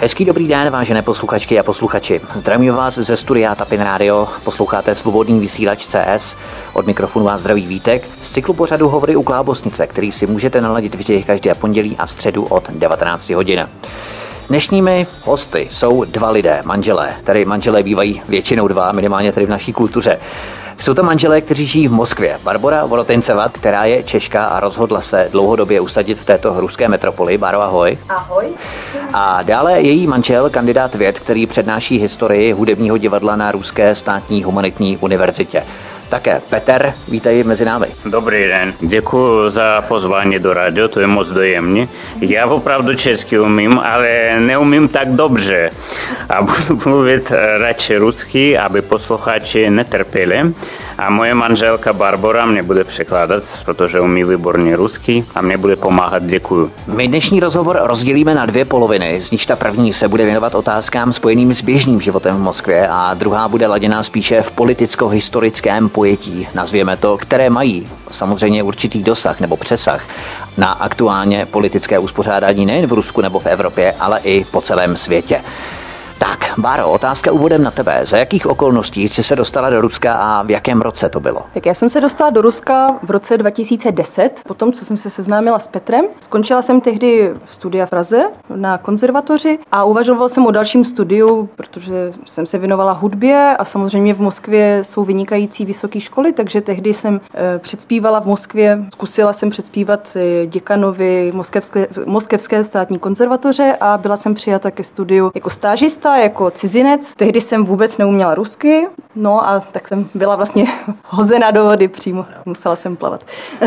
Hezký dobrý den, vážené posluchačky a posluchači. Zdravím vás ze studia Tapin Radio, posloucháte Svobodný vysílač CS. Od mikrofonu vás zdraví Vítek z cyklu pořadu Hovory u Klábosnice, který si můžete naladit vždy každé pondělí a středu od 19 hodin. Dnešními hosty jsou dva lidé, manželé. Tady manželé bývají většinou dva, minimálně tady v naší kultuře. Jsou to manželé, kteří žijí v Moskvě. Barbora Vorotinceva, která je Češka a rozhodla se dlouhodobě usadit v této ruské metropoli. Báro, ahoj. Ahoj. A dále její manžel, kandidát věd, který přednáší historii hudebního divadla na Ruské státní humanitní univerzitě. Také Petr, vítej mezi námi. Dobrý den, děkuji za pozvání do rádio, to je moc dojemné. Já opravdu česky umím, ale neumím tak dobře. A budu mluvit radši rusky, aby posluchači netrpěli. A moje manželka Barbora mě bude překládat, protože umí výborně rusky a mě bude pomáhat. Děkuju. My dnešní rozhovor rozdělíme na dvě poloviny, z níž ta první se bude věnovat otázkám spojeným s běžným životem v Moskvě a druhá bude laděná spíše v politicko-historickém pojetí, nazvěme to, které mají samozřejmě určitý dosah nebo přesah na aktuálně politické uspořádání nejen v Rusku nebo v Evropě, ale i po celém světě. Tak, Báro, otázka úvodem na tebe. Za jakých okolností jsi se dostala do Ruska a v jakém roce to bylo? Tak já jsem se dostala do Ruska v roce 2010, potom, co jsem se seznámila s Petrem. Skončila jsem tehdy studia v Praze na konzervatoři a uvažovala jsem o dalším studiu, protože jsem se věnovala hudbě a samozřejmě v Moskvě jsou vynikající vysoké školy, takže tehdy jsem předspívala v Moskvě, zkusila jsem předspívat děkanovi Moskevské státní konzervatoře a byla jsem přijata ke studiu jako stážista, jako cizinec. Tehdy jsem vůbec neuměla rusky, no a tak jsem byla vlastně hozena do vody přímo. Musela jsem plavat.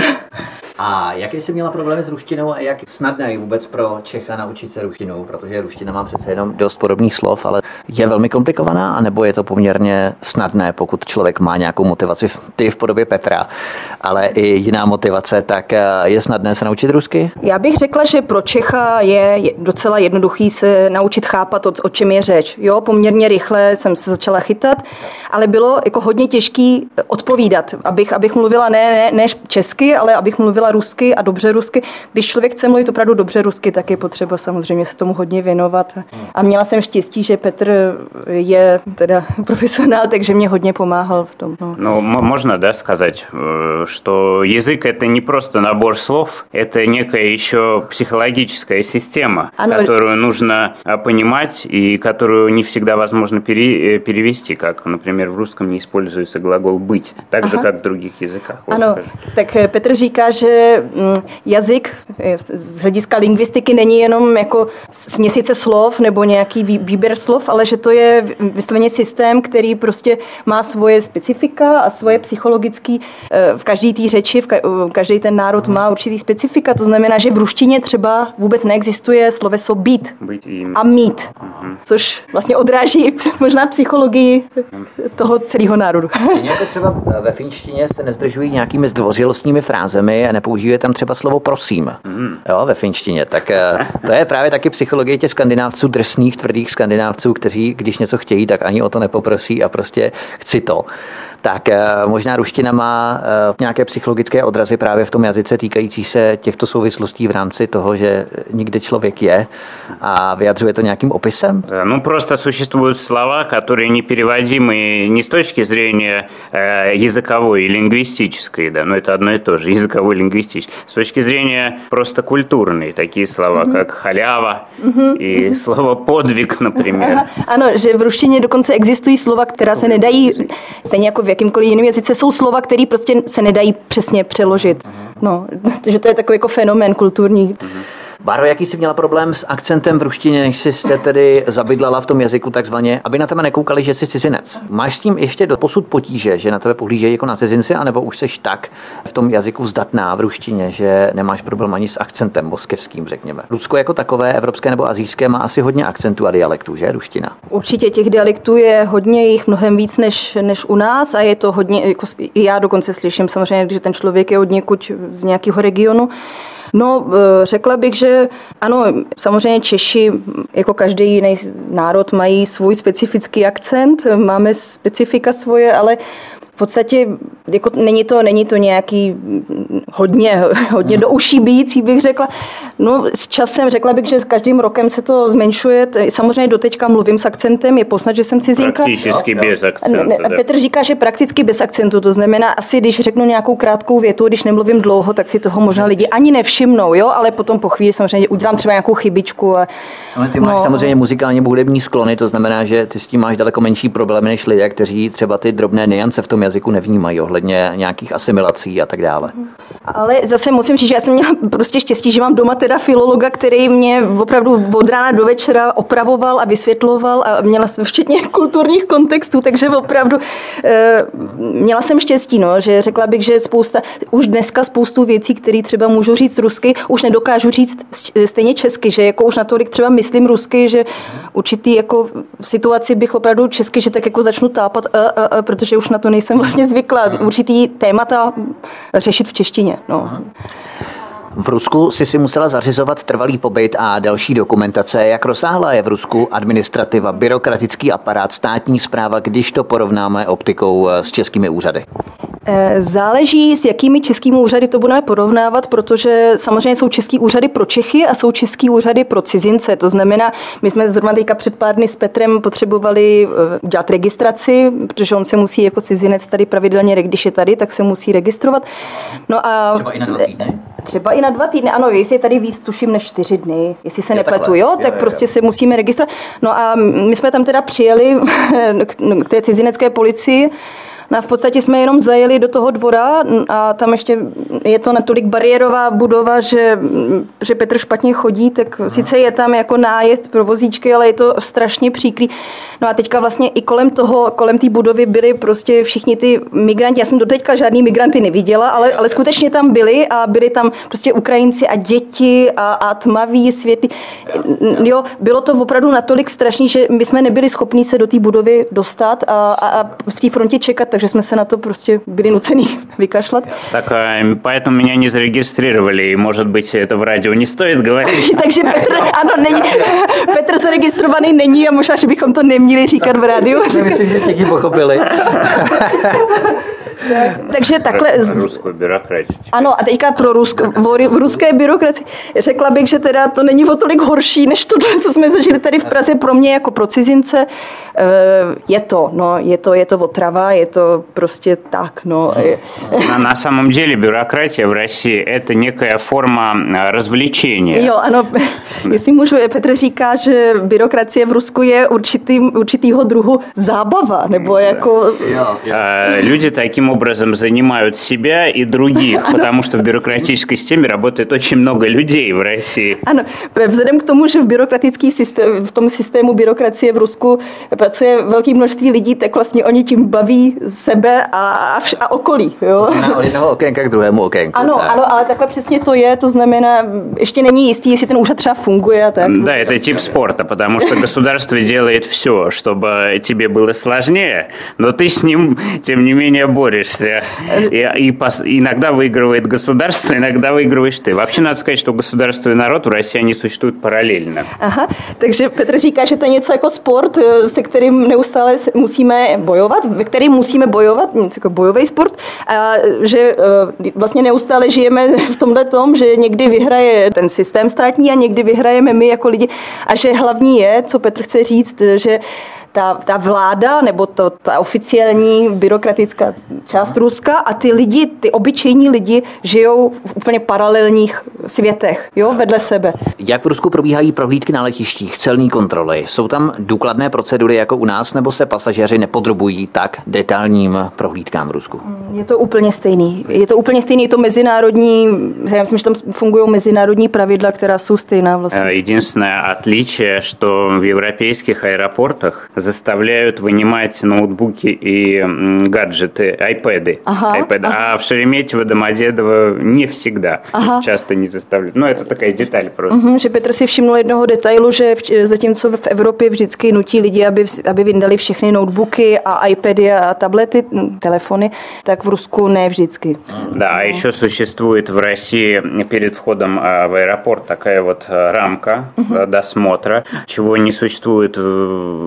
A jaké jsi měla problémy s ruštinou a jak snadné je vůbec pro Čecha naučit se ruštinu? Protože ruština má přece jenom dost podobných slov, ale je velmi komplikovaná, anebo je to poměrně snadné, pokud člověk má nějakou motivaci, ty v podobě Petra, ale i jiná motivace, tak je snadné se naučit rusky? Já bych řekla, že pro Čecha je docela jednoduchý se naučit chápat, o čem je řeč. Jo, poměrně rychle jsem se začala chytat, ale bylo jako hodně těžký odpovídat, abych mluvila ne česky, ale abych mluvila rusky a dobře rusky. Když člověk chce mluvit opravdu dobře rusky, tak je potřeba samozřejmě se tomu hodně věnovat. A měla jsem štěstí, že Petr je teda profesionál, takže mě hodně pomáhal v tom. No, можно, да, сказать, что язык это не просто набор слов, это некая еще психологическая система, которую нужно понимать и которую не всегда возможно перевести, как, например, в русском не используется глагол быть, так же, как в других языках. Ano, tak Petr říká, že jazyk z hlediska lingvistiky není jenom jako směsice slov nebo nějaký výběr slov, ale že to je vysloveně systém, který prostě má svoje specifika a svoje psychologický, v každé té řeči, každý ten národ má určitý specifika, to znamená, že v ruštině třeba vůbec neexistuje sloveso být a mít, což vlastně odráží možná psychologii toho celého národu. Jako třeba ve finštině se nezdržují nějakými zdvořilostními frázemi a nepoužije tam třeba slovo prosím. Jo, ve finštině. Tak to je právě taky psychologie těch skandinávců, drsných, tvrdých skandinávců, kteří, když něco chtějí, tak ani o to nepoprosí a prostě chci to. Tak možná ruština má nějaké psychologické odrazy právě v tom jazyce týkající se těchto souvislostí v rámci toho, že nikde člověk je a vyjadřuje to nějakým opisem? Ну, просто существуют слова, которые непереводимы не с точки зрения языковой и лингвистической, да, но это одно и то же, языковой и лингвистической, с точки зрения просто культурной, такие слова, как халява и слово подвиг, например. Ano, že v ruštině dokonce existují slova, která se nedají, stejně jako v jakýmkoliv jiném jazyce, jsou slova, které prostě se nedají přesně přeložit. No, že to je takový jako fenomén kulturní. Báro, jaký jsi měla problém s akcentem v ruštině, než jsi se tedy zabydlala v tom jazyku takzvaně, aby na tebe nekoukali, že jsi cizinec? Máš s tím ještě doposud potíže, že na tebe pohlížejí jako na cizinci, anebo už seš tak v tom jazyku zdatná v ruštině, že nemáš problém ani s akcentem moskevským, řekněme? Rusko jako takové, evropské nebo asijské, má asi hodně akcentů a dialektů, že, ruština? Určitě těch dialektů je hodně, jich mnohem víc než u nás a je to hodně, jako i já dokonce slyším samozřejmě, že ten člověk je od někud z nějakého regionu. No, řekla bych, že ano, samozřejmě Češi, jako každý jiný národ, mají svůj specifický akcent, máme specifika svoje, ale v podstatě Jako není to nějaký hodně do uší bijící, bych řekla. No s časem řekla bych, že s každým rokem se to zmenšuje. Samozřejmě doteďka mluvím s akcentem, je poznat, že jsem cizinka. Prakticky bez akcentu. Petr říká, že prakticky bez akcentu, to znamená asi, když řeknu nějakou krátkou větu, když nemluvím dlouho, tak si toho možná lidi ani nevšimnou, jo, ale potom po chvíli samozřejmě udělám třeba nějakou chybičku. Ale ty máš samozřejmě muzikálně hudební sklony, to znamená, že ty s tím máš daleko menší problémy než lidé, kteří třeba ty drobné nuance v tom jazyku nevnímají ohledně nějakých asimilací a tak dále. Ale zase musím říct, že já jsem měla prostě štěstí, že mám doma teda filologa, který mě opravdu od rána do večera opravoval a vysvětloval a měla jsem včetně kulturních kontextů, takže opravdu měla jsem štěstí, no, že řekla bych, že už dneska spoustu věcí, které třeba můžu říct rusky, už nedokážu říct stejně česky, že jako už natolik třeba myslím rusky, že určitý jako v situaci bych opravdu česky, že tak jako začnu tápat, protože už na to nejsem vlastně zvyklá. Určitý témata řešit v češtině. No. V Rusku si musela zařizovat trvalý pobyt a další dokumentace. Jak rozsáhlá je v Rusku administrativa, byrokratický aparát, státní správa, když to porovnáme optikou s českými úřady? Záleží, s jakými českými úřady to budeme porovnávat, protože samozřejmě jsou český úřady pro Čechy a jsou český úřady pro cizince. To znamená, my jsme zrovna teďka před pár dny s Petrem potřebovali dělat registraci, protože on se musí jako cizinec tady pravidelně, když je tady, tak se musí registrovat. No a třeba i na 2 týdny? Třeba i na 2 týdny, ano, jestli je tady víc, tuším, než 4 dny, jestli se nepletu, jo, tak prostě se musíme registrovat. No a my jsme tam teda přijeli k té cizinecké policii. No a v podstatě jsme jenom zajeli do toho dvora a tam ještě je to natolik bariérová budova, že Petr špatně chodí, tak sice je tam jako nájezd pro vozíčky, ale je to strašně příkrý. No a teďka vlastně i kolem té budovy byli prostě všichni ty migranti. Já jsem doteďka žádný migranty neviděla, ale skutečně tam byli a byli tam prostě Ukrajinci a děti a tmaví, světlí. Jo, bylo to opravdu natolik strašný, že my jsme nebyli schopni se do té budovy dostat a v té frontě čekat, takže jsme se na to prostě byli nuceni vykašlat. Tak поэтому меня не зарегистрировали, может быть, это в радио не стоит говорить. Takže Petr zaregistrovaný není a možná, že bychom to neměli říkat v rádiu. Myslím, že všichni pochopili. Takže takhle. Ruskou byrokracii. Ano, a teďka v ruské byrokracii řekla bych, že teda to není o tolik horší, než to, co jsme zažili tady v Praze pro mě jako pro cizince. Je to otrava, je to prostě tak, no. На самом деле бюрократия в России это некая форма развлечения. Jo, ano, jestli můžu, Petr říká, že byrokracie v Rusku je určitýho druhu zábava, nebo jako... Люди таким образом занимают себя и других, потому что в бюрократической системе работает очень много людей в России. Ano, vzhledem k tomu, že v tom systému byrokracie v Rusku pracuje velké množství lidí, tak vlastně oni tím baví sebe a okolí. Jo? Od jednoho okénka k druhému okénku. Ano, ale takhle přesně to je, to znamená, ještě není jistý, jestli ten úřad třeba funguje a tak. Да, это тип спорта, потому что государство делает все, чтобы тебе было сложнее, но ты с ним, тем не менее, борешься. И иногда выигрывает государство, иногда выигрываешь ты. Вообще, надо сказать, что государство и народ в России, они существуют параллельно. Aha, takže Petr říká, že to je něco jako sport, se kterým neustále musíme bojovat, ve kterým musíme bojovat, jako bojový sport, a že vlastně neustále žijeme v tomhle tom, že někdy vyhraje ten systém státní a někdy vyhrajeme my jako lidi a že hlavní je, co Petr chce říct, že ta vláda nebo ta oficiální byrokratická část Ruska a ty lidi, ty obyčejní lidi žijou v úplně paralelních světech, jo, vedle sebe. Jak v Rusku probíhají prohlídky na letištích, celní kontroly? Jsou tam důkladné procedury jako u nás, nebo se pasažéři nepodrobují tak detailním prohlídkám v Rusku? Je to úplně stejný. Je to mezinárodní, já myslím, že tam fungují mezinárodní pravidla, která jsou stejná vlastně. Единственное отличие, что в европейских аэропортах заставляют вынимать ноутбуки и гаджеты, iPad. А в Шереметьево, Домодедово не всегда. Часто не заставляют. Но это такая деталь просто. Že Petr si všiml jednoho detailu, že zatímco v Evropě vždycky nutí lidi, aby vyndali všechny notebooky a iPady a tablety, telefony, tak v Rusku ne vždycky. Да, а еще существует в России перед входом в аэропорт такая вот рамка досмотра, чего не существует в Европе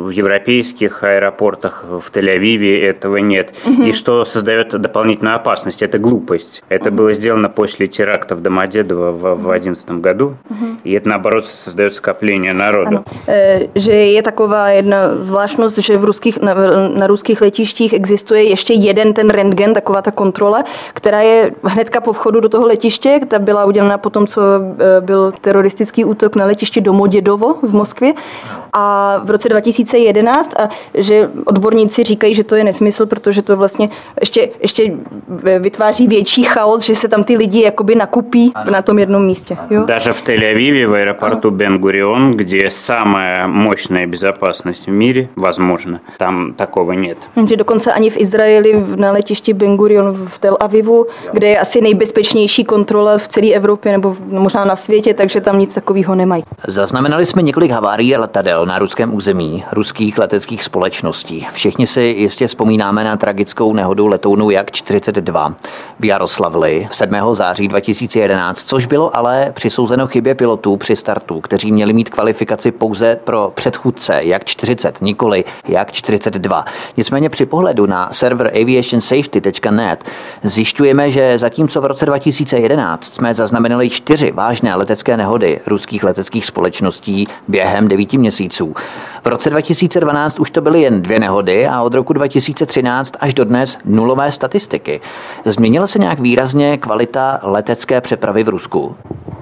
европейских аэропортах, в Тель-Авиве этого нет. И что создает дополнительную опасность, это глупость. Это было сделано после теракта в Домодедово в 2011 году, и это, наоборот, создает скопление народу. Ano. Že je taková jedna zvláštnost, že na ruských letištích existuje ještě jeden ten rentgen, taková ta kontrola, která je hnedka po vchodu do toho letiště. Ta byla udělána po tom, co byl teroristický útok na letišti Domodědovo v Moskvě a v roce 2011, a že odborníci říkají, že to je nesmysl, protože to vlastně ještě vytváří větší chaos, že se tam ty lidi jakoby nakupí na tom jednom místě. Jo? Даже в Тель-Авиве, в аэропорту Бен-Гурион, где самая мощная безопасность в мире, возможно, там такого нет. Že dokonce ani v Izraeli na letišti Ben-Gurion v Tel Avivu, kde je asi nejbezpečnější kontrola v celé Evropě nebo možná na světě, takže tam nic takového nemají. Zaznamenali jsme několik havárií letadel na ruském území, ruských leteckých společností. Všichni si jistě vzpomínáme na tragickou nehodu letounu Jak-42 v Jaroslavli 7. září 2011, což bylo ale přisouzeno chybě pilotů při startu, kteří měli mít kvalifikaci pouze pro předchůdce Jak-40, nikoli Jak-42. Nicméně při pohledu na server aviationsafety.net zjišťujeme, že zatímco v roce 2011 jsme zaznamenali 4 vážné letecké nehody ruských leteckých společností během 9 měsíců. V roce 2012 už to byly jen 2 nehody a od roku 2013 až do dnes nulové statistiky. Změnila se nějak výrazně kvalita letecké přepravy v Rusku?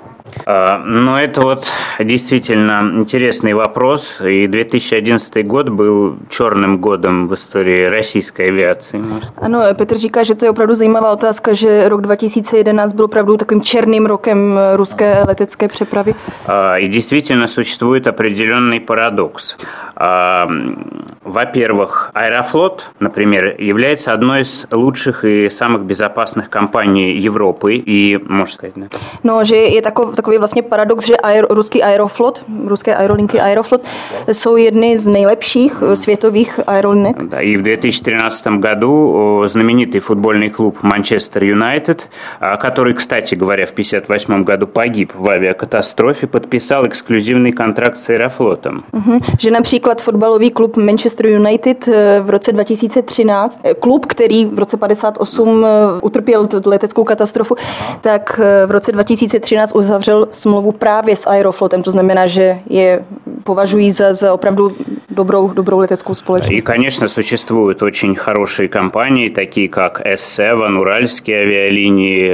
Но это вот действительно интересный вопрос. И 2011 год был черным годом в истории российской авиации. Ano, Petr říká, že to je opravdu zajímavá otázka, že rok 2011 byl opravdu takovým černým rokem ruské letecké přepravy. И действительно существует определенный парадокс. Во-первых, Аэрофлот, например, является одной из лучших и самых безопасных компаний Европы и, можно сказать, да. No, že je takový vlastně paradox, že ruský Aeroflot, ruské aerolinky Aeroflot jsou jedny z nejlepších světových aerolinek. Да, и в 2013 году знаменитый футбольный клуб Манчестер Юнайтед, который, кстати говоря, в 1958 году погиб в авиакатастрофе, подписал эксклюзивный контракт с Аэрофлотом. Že například fotbalový klub Manchester United v roce 2013, klub, který v roce 58 utrpěl tu leteckou katastrofu, tak v roce 2013 uzavřel smlouvu právě s Aeroflotem. To znamená, že je považují za opravdu dobrou leteckou společnost. И, конечно, существуют очень хорошие компании, такие как S7, Уральские авиалинии,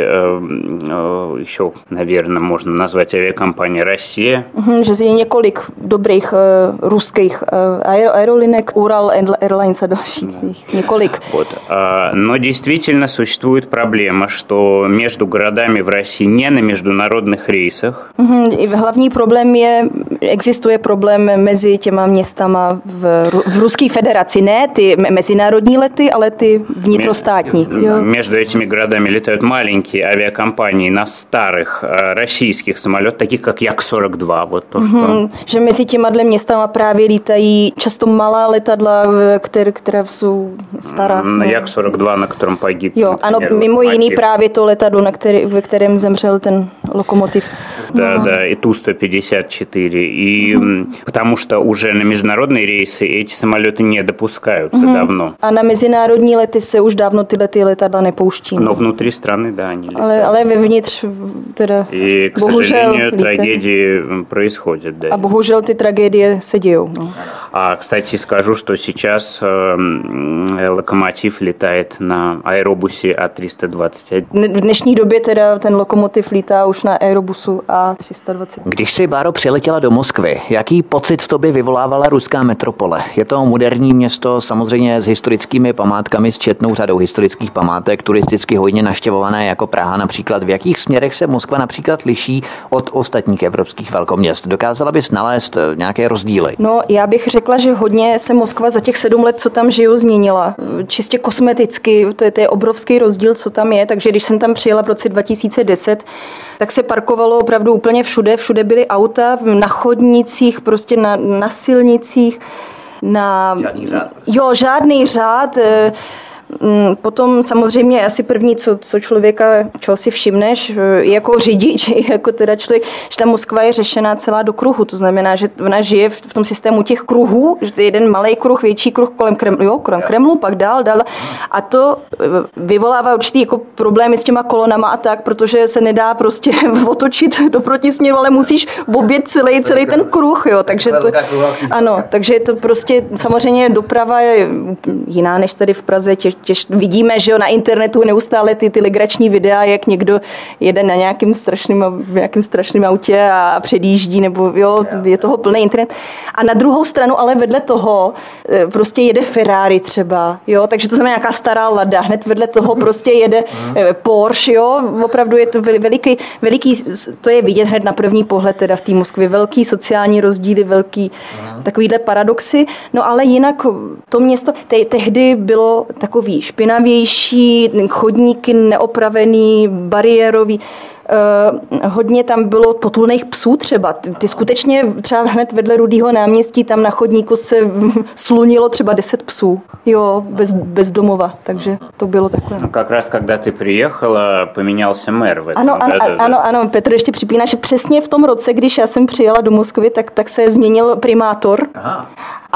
еще, наверное, можно назвать авиакомпания «Россия». Že je několik dobrých ruských aerolinek, Ural Airlines a dalších. Několik. Вот. Но действительно существует проблема, что между городами в России не на международных рейсах. Hlavní problém existuje problém mezi těma městama v Ruské federaci. Ne ty mezinárodní lety, ale ty vnitrostátní. Между этими городами летают маленькие авиакомпании на старых российских самолетах, таких как Як-42. Вот то, что... Že mezi těma městama právě lítají často malá letadla, která jsou stará. Jak-42, на котором погиб. Jo, ano, mimo jiný právě to letadlo, ve kterém zemřel ten lokomotiv. Да, и Ту-154. И потому что уже на международные рейсы эти самолеты не допускаются давно. A na mezinárodní lety se už dávno tyhle letadla nepouští. Но внутри страны, да, они летают. Ale vevnitř teda и, к сожалению, трагедии происходят. Да. A bohužel ty tragédie se dějou. No. А, кстати, скажу, что сейчас локомотив летает на аэробусе А320. V dnešní době teda ten lokomotiv lítá už na aerobusu A320. Když si, Báro, přiletěla do Moskvy, jaký pocit v tobě vyvolávala ruská metropole? Je to moderní město, samozřejmě s historickými památkami, s četnou řadou historických památek, turisticky hodně navštěvované jako Praha například. V jakých směrech se Moskva například liší od ostatních evropských velkoměst? Dokázala bys nalézt nějaké rozdíly? No, já bych řekla, že hodně se Moskva za těch 7 let, co tam žiju, změnila. Čistě kosmeticky, to je obrovský rozdíl, co tam je, takže když jsem tam přijela v roce 2010, tak se parkovalo opravdu úplně všude. Všude byly auta, na chodnicích, prostě na silnicích. Žádný řád. Jo, žádný řád. potom samozřejmě asi první, co člověka, čeho si všimneš, jako řidič, jako teda člověk, že ta Moskva je řešená celá do kruhu. To znamená, že ona žije v tom systému těch kruhů, že to je jeden malý kruh, větší kruh kolem Kremlu, pak dál. A to vyvolává určitý jako problémy s těma kolonama a tak, protože se nedá prostě otočit do protisměru, ale musíš objet celý ten kruh, jo. Takže to, ano, takže to prostě samozřejmě doprava je jiná než tady v Praze. Vidíme, že jo, na internetu neustále ty legrační videa, jak někdo jede na nějakým strašným autě a předjíždí, nebo jo, je toho plný internet. A na druhou stranu, ale vedle toho prostě jede Ferrari třeba, jo, takže to znamená nějaká stará Lada, hned vedle toho prostě jede Porsche, jo, opravdu je to veliký, to je vidět hned na první pohled teda v té Moskvě, velký sociální rozdíly, velký takovýhle paradoxy, no ale jinak to město tehdy bylo takový špinavější, chodníky neopravený, bariérový, hodně tam bylo potulných psů třeba. Ty skutečně třeba hned vedle Rudýho náměstí tam na chodníku se slunilo třeba 10 psů. Jo, bez domova, takže to bylo takové. No, как раз когда ты приехала, поменялся мэр в этом. Ano, Petr ještě připíná, že přesně v tom roce, když já jsem přijela do Moskvy, tak se změnil primátor. Aha.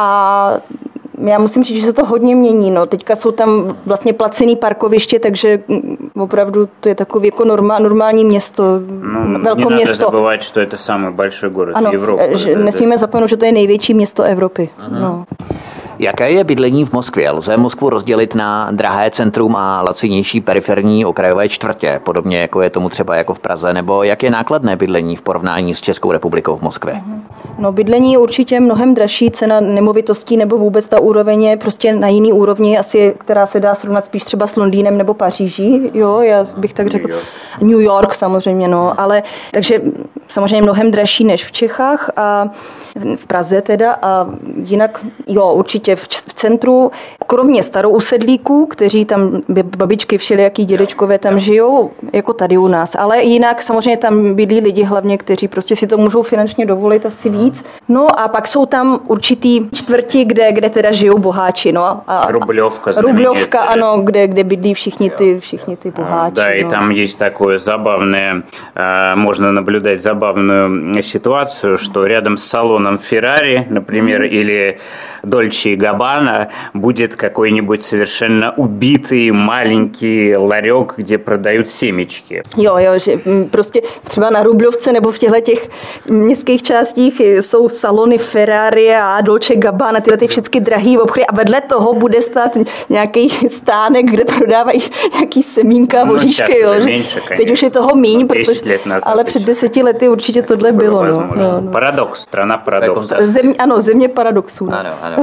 A já musím říct, že se to hodně mění. No. Teďka jsou tam vlastně placený parkoviště, takže opravdu to je takové jako normální město, velké město. Надо забывать, что это самый большой город Evropy. Nesmíme zapomenout, že to je největší město Evropy. No. Jaké je bydlení v Moskvě? Lze Moskvu rozdělit na drahé centrum a lacinější periferní okrajové čtvrtě, podobně jako je tomu třeba jako v Praze, nebo jak je nákladné bydlení v porovnání s Českou republikou v Moskvě? No, bydlení je určitě mnohem dražší, cena nemovitostí nebo vůbec ta úroveň je prostě na jiný úrovni, asi, která se dá srovnat spíš třeba s Londýnem nebo Paříží, jo, já bych tak řekl. New York samozřejmě, no, ale takže samozřejmě mnohem dražší než v Čechách a v Praze teda a jinak, jo, určitě v centru, kromě starousedlíků, kteří tam, babičky všelijaký dědečkové tam žijou, jako tady u nás, ale jinak samozřejmě tam bydlí lidi hlavně, kteří prostě si to můžou finančně dovolit asi víc. No a pak jsou tam určitý čtvrti, kde teda žijou boháči, no. A Rubljovka, ano, kde bydlí všichni ty boháči. Да, и там есть такое забавное, можно наблюдать забавную ситуацию, что рядом с салоном Ferrari, например, или Dolce & Gabbana будет какой-нибудь совершенно убитый маленький ларек, где продают семечки. Jo, že prostě třeba na Rubljovce nebo v těch městských částích jsou salony Ferrari a Dolce & Gabbana, tyhle ty všechny drahý obchody a vedle toho bude stát nějaký stánek, kde prodávají nějaký semínka, voříšky, jo. Teď už je toho míň, ale před 10 lety určitě tohle bylo. No. Paradox, strana paradoxů. Země paradoxů. Ano.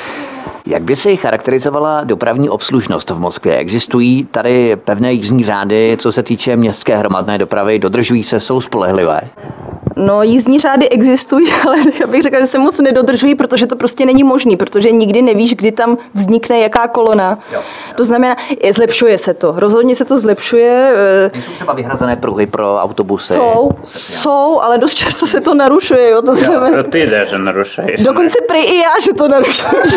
Jak by si charakterizovala dopravní obslužnost v Moskvě? Existují tady pevné jízdní řády, co se týče městské hromadné dopravy? Dodržují se, jsou spolehlivé? No, jízdní řády existují, ale já bych řekla, že se moc nedodržují, protože to prostě není možný, protože nikdy nevíš, kdy tam vznikne jaká kolona. Jo. To znamená, zlepšuje se to. Rozhodně se to zlepšuje. Nejsou třeba vyhrazené pruhy pro autobusy? Jsou, ale dost často se to narušuje. Jo, to znamená, ty даже narušuješ. Dokonce prý i já, že to narušuješ.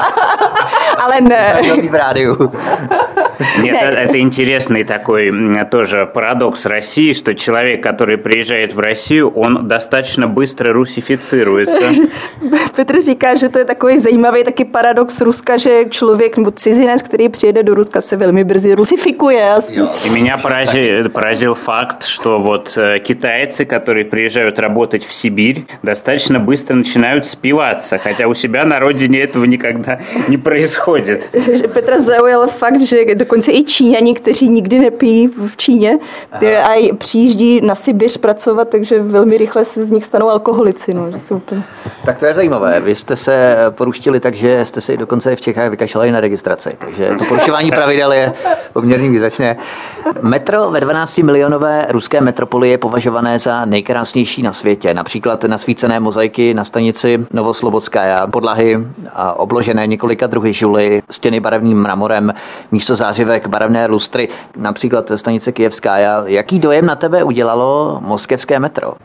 Ale ne. V rádiu. Нет, это интересный такой тоже парадокс России, что человек, который приезжает в Россию, on достаточно bystro rusifицirujется. Petr říká, že to je takový zajímavý taky paradox Ruska, že člověk nebo cizinec, který přijede do Ruska, se velmi brzy rusifikuje. И меня поразил факт, что вот китайцы, которые приезжают работать в Сибирь, достаточно быстро начинают спиваться, хотя у себя на родине этого никогда не происходит. Petra zaujal fakt, že dokonce i Číňani, kteří nikdy nepijí v Číně a přijíždí na Sibiř pracovat, takže velmi rychle se z nich stanou alkoholici. No, že jsou úplně... Tak to je zajímavé. Vy jste se poruštili tak, že jste si dokonce v Čechách vykašlali na registraci. Takže to porušování pravidel je poměrně význačné. Metro ve 12-milionové ruské metropoli je považované za nejkrásnější na světě. Například nasvícené mozaiky na stanici Novoslobodskaja, podlahy obložené několika druhy žuly, stěny barevným mramorem, místo zářivek barevné lustry, například stanice Kyjevská. Jaký dojem na tebe udělalo moskevské metro?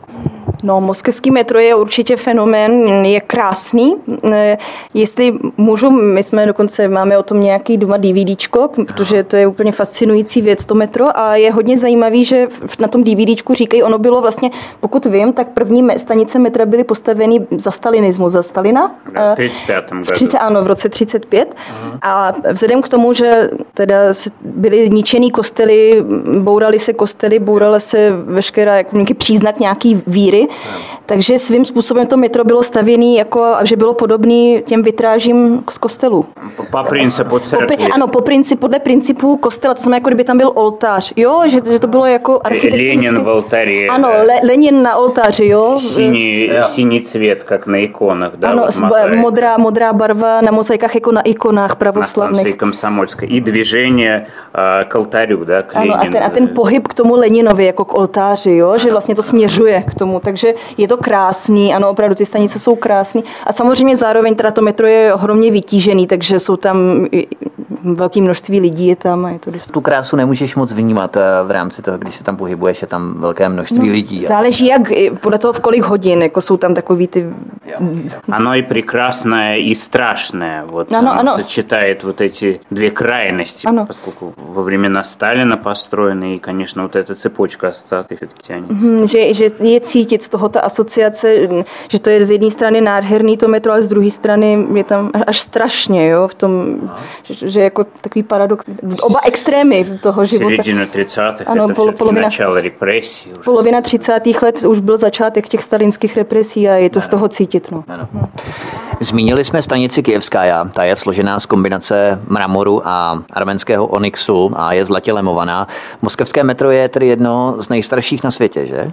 No, moskevský metro je určitě fenomén, je krásný. Jestli můžu, my jsme dokonce, máme o tom nějaký doma DVDčko, protože to je úplně fascinující věc, to metro, a je hodně zajímavý, že na tom DVDčku říkají, ono bylo vlastně, pokud vím, tak první stanice metra byly postaveny za stalinismu, za Stalina. V 35. Ano, v roce 35. A vzhledem k tomu, že teda byly ničený kostely, bourala se veškerá jako nějaký příznak nějaký víry, takže svým způsobem to metro bylo stavěné jako, že bylo podobné těm vitrážím z kostelů. Po principu církve. Ano, podle principu kostela, to znamená, jako kdyby tam byl oltář, jo, že to bylo jako architektonické. Lenin v oltáři. Ano, Lenin na oltáři, jo. Синий цвет, как на иконах, да? Ano, modrá barva na mozaikách, jako na ikonách pravoslavných. Na станции Комсомольской. И движение к алтарю, да, к Ano, Ленину. a ten pohyb k tomu Leninovi, jako k oltáři, jo, že vlastně to směřuje k tomu, takže je to krásný, ano, opravdu ty stanice jsou krásný a samozřejmě zároveň teda to metro je ohromně vytížený, takže jsou tam velké množství lidí je tam a je to dost. Tu krásu nemůžeš moc vnímat v rámci toho, když se tam pohybuješ, je tam velké množství lidí. Záleží podle toho v kolik hodin, jako jsou tam takový ty... Оно и прекрасное, и страшное. Вот оно сочетает вот эти две крайности, поскольку во времена Сталина построены, и, конечно, вот эта цепочка ассоциаций все-таки тянется. Že je cítit z toho ta asociace, že to je z jedné strany nádherný to metro, ale z druhé strany je tam až strašně, jo, v tom, že jako takový paradox, oba extrémy toho života. Середина 30-х, ano, это все-таки начало репрессий. Polovina 30. let už byl začátek těch stalinských represí a je to z toho cítit. No. Zmínili jsme stanici Kyjevská, ta je složená z kombinace mramoru a arménského onyxu a je zlatě lemovaná. Moskevské metro je tedy jedno z nejstarších na světě, že?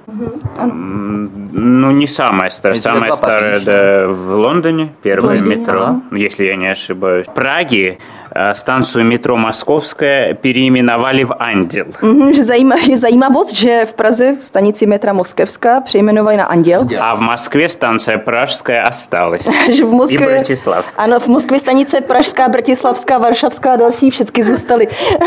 Ну, не самое старое. Самое старое в Лондоне, первое метро, если я не ошибаюсь. В Праге станцию метро Moskovské переименовали v Anděl. Je zajímavost, že v Praze v stanici metra Moskevská přejmenovali na Anděl. A v Moskvě stanice Pražská осталась. Že v Moskvě, I Bratislavská. Ano, v Moskvě stanice Pražská, Bratislavská, Varšavská a další všechny zůstaly.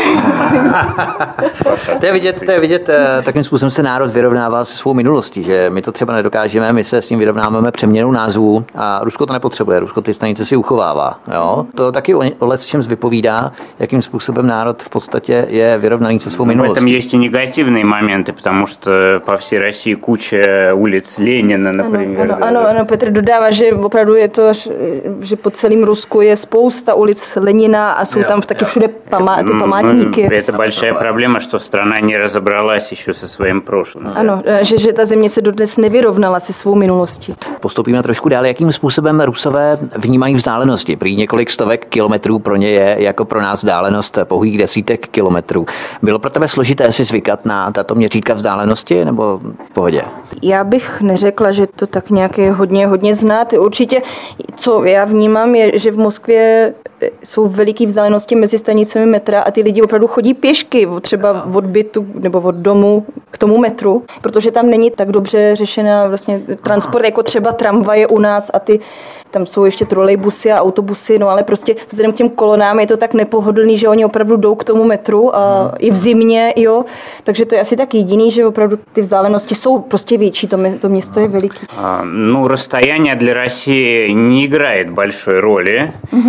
To je vidět, takým způsobem se národ vyrovnává se svou minulostí, že my to třeba nedokážeme, my se s tím vyrovnáváme přeměnou názvů a Rusko to nepotřebuje, Rusko ty stanice si uchovává. Jo? To taky o lecčem vypovídá, jakým způsobem národ v podstatě je vyrovnaný se svou minulostí. В этом есть и негативные моменты, потому что по всей России куча улиц Ленина, например. Ano, Petr dodává, že opravdu je to, že po celém Rusku je spousta ulic Lenina a jsou tam taky všude ty památníky. Это большая проблема, что страна не разобралась еще со своим прошлым. Ano, že ta země se dodnes nevyrovnala se svou minulostí. Postoupíme trošku dál, jakým způsobem Rusové vnímají vzdálenosti. Prý několik stovek kilometrů pro ně je jako pro nás vzdálenost pouhých desítek kilometrů. Bylo pro tebe složité si zvykat na tato měřítka vzdálenosti nebo v pohodě? Já bych neřekla, že to tak nějak je hodně znát. Určitě, co já vnímám, je, že v Moskvě jsou veliké vzdálenosti mezi stanicemi metra a ty lidi opravdu chodí pěšky, třeba od bytu nebo od domu k tomu metru, protože tam není tak dobře řešená vlastně transport, jako třeba tramvaje u nás a tam jsou ještě trolejbusy a autobusy, no ale prostě vzhledem k těm kolonám je to tak nepohodlný, že oni opravdu jdou k tomu metru a i v zimě, jo, takže to je asi tak jediný, že opravdu ty vzdálenosti jsou prostě větší, to město je veliký. Ну, расстояние для России не играет большой роли.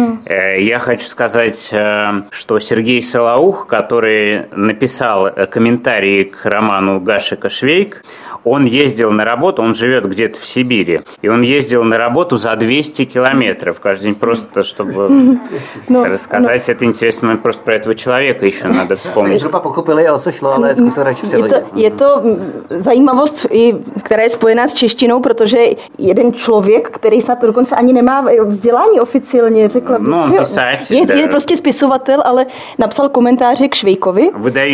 Я хочу сказать, что Сергей Солоух, который написал комментарии к роману Гашека «Швейк», он ездил на работу, он живет где-то в Сибири, и он ездил на работу за 200 километров каждый день, просто чтобы рассказать. Это интересный момент, просто про этого человека еще надо вспомнить. Zhruba pochopili, o co šlo, ale zkuste radši přeložit. Je to zajímavost, která je spojená s češtinou, protože jeden člověk, který snad dokonce ani nemá vzdělání oficiálně, řekla bych. No, písač, je prostě spisovatel, ale napsal komentáře k Švejkovi.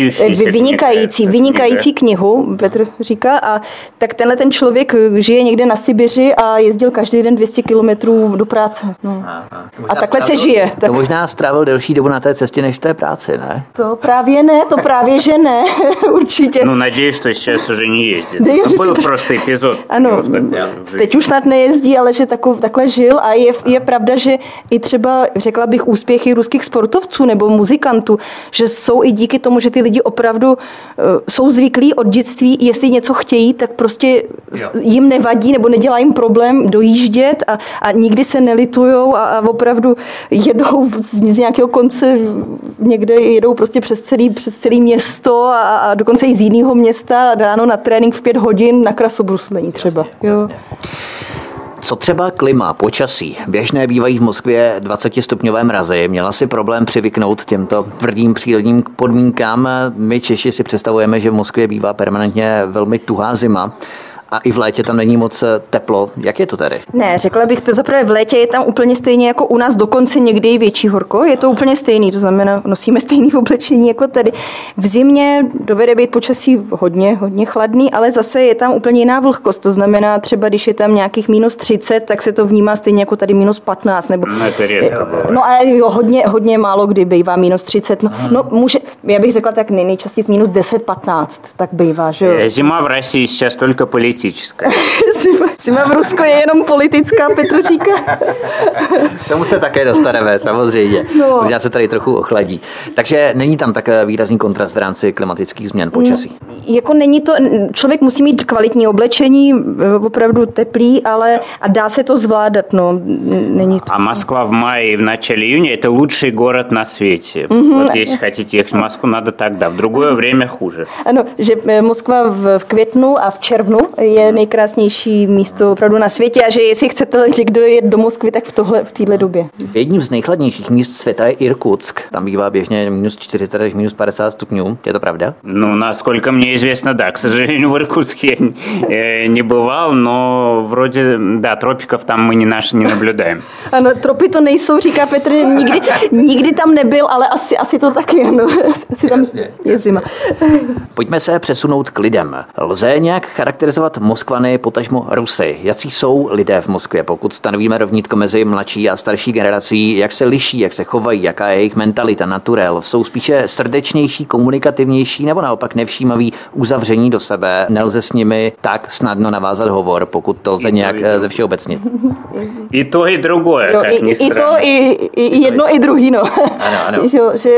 Vynikající knihu, Petr říká, a tak ten člověk žije někde na Sibiři a jezdil každý den 200 kilometrů do práce. No. A takhle se žije. To možná strávil delší dobu na té cestě než v té práci, ne? To právě že ne, určitě. No, надеюсь, что сейчас уже не ездит. To byl prostě epizod. Ano, teď už snad nejezdí, ale že takhle žil a je pravda, že i třeba, řekla bych, úspěchy ruských sportovců nebo muzikantů, že jsou i díky tomu, že ty lidi opravdu jsou zvyklí od dětství, jestli něco chtějí, bydlí, tak prostě jim nevadí nebo nedělá jim problém dojíždět a nikdy se nelitujou a opravdu jedou z nějakého konce, někde jedou prostě přes celý město a dokonce i z jiného města ráno na trénink v 5 hodin na krasobruslení třeba. Jasně. Co třeba klima, počasí? Běžné bývají v Moskvě 20stupňové mrazy. Měla si problém přivyknout těmto tvrdým přírodním podmínkám. My Češi si představujeme, že v Moskvě bývá permanentně velmi tuhá zima. A i v létě tam není moc teplo. Jak je to tady? Ne, řekla bych to zaprvé v létě je tam úplně stejně jako u nás, dokonce někdy i větší horko. Je to úplně stejný, to znamená, nosíme stejný oblečení jako tady. V zimě dovede být počasí hodně chladný, ale zase je tam úplně jiná vlhkost. To znamená, třeba když je tam nějakých -30, tak se to vnímá stejně jako tady -15. Nebo, no a jo, hodně málo kdy bývá -30. No může, já bych řekla tak nejčastěji -10-15, tak bývá, že jo. Zima v России сейчас только политическая. Zima v Rusku je jenom politická, Petr říká. K tomu se také dostaneme, samozřejmě. Možná se tady trochu ochladí. Takže není tam tak výrazný kontrast v rámci klimatických změn počasí. Jako není to, člověk musí mít kvalitní oblečení, opravdu teplý, ale a dá se to zvládat, no. Není to. А Москва в мае и в начале июня – это лучший город на свете. Вот если хотите ехать в Москву, надо тогда. В другое время хуже. Ano, že Moskva v květnu a v červnu je nejkrásnější místo opravdu na světě a že jestli chcete někdo jet do Moskvy, tak v téhle době. Jedním z nejchladnějších míst světa je Irkutsk. Tam bývá běžně -40 až -50 stupňů. Je to pravda? Ну, насколько мне известно, да. К сожалению, в Иркутске я не бывал, но вроде, да, тропиков там мы не наблюдаем. Ano, tropy to nejsou, říká Petr, nikdy tam nebyl, ale asi to taky, ano. Asi tam je zima. Pojďme se přesunout k lidem. Lze nějak charakterizovat Moskvany, potažmo Rusy? Jací jsou lidé v Moskvě? Pokud stanovíme rovnítko mezi mladší a starší generací, jak se liší, jak se chovají, jaká je jejich mentalita, naturel? Jsou spíše srdečnější, komunikativnější nebo naopak nevšímaví, uzavření do sebe? Nelze s nimi tak snadno navázat hovor, pokud to lze nějak ze všeobecnit? I to, i druhé, jak ni i to, i jedno, i druhý, no. Ano. že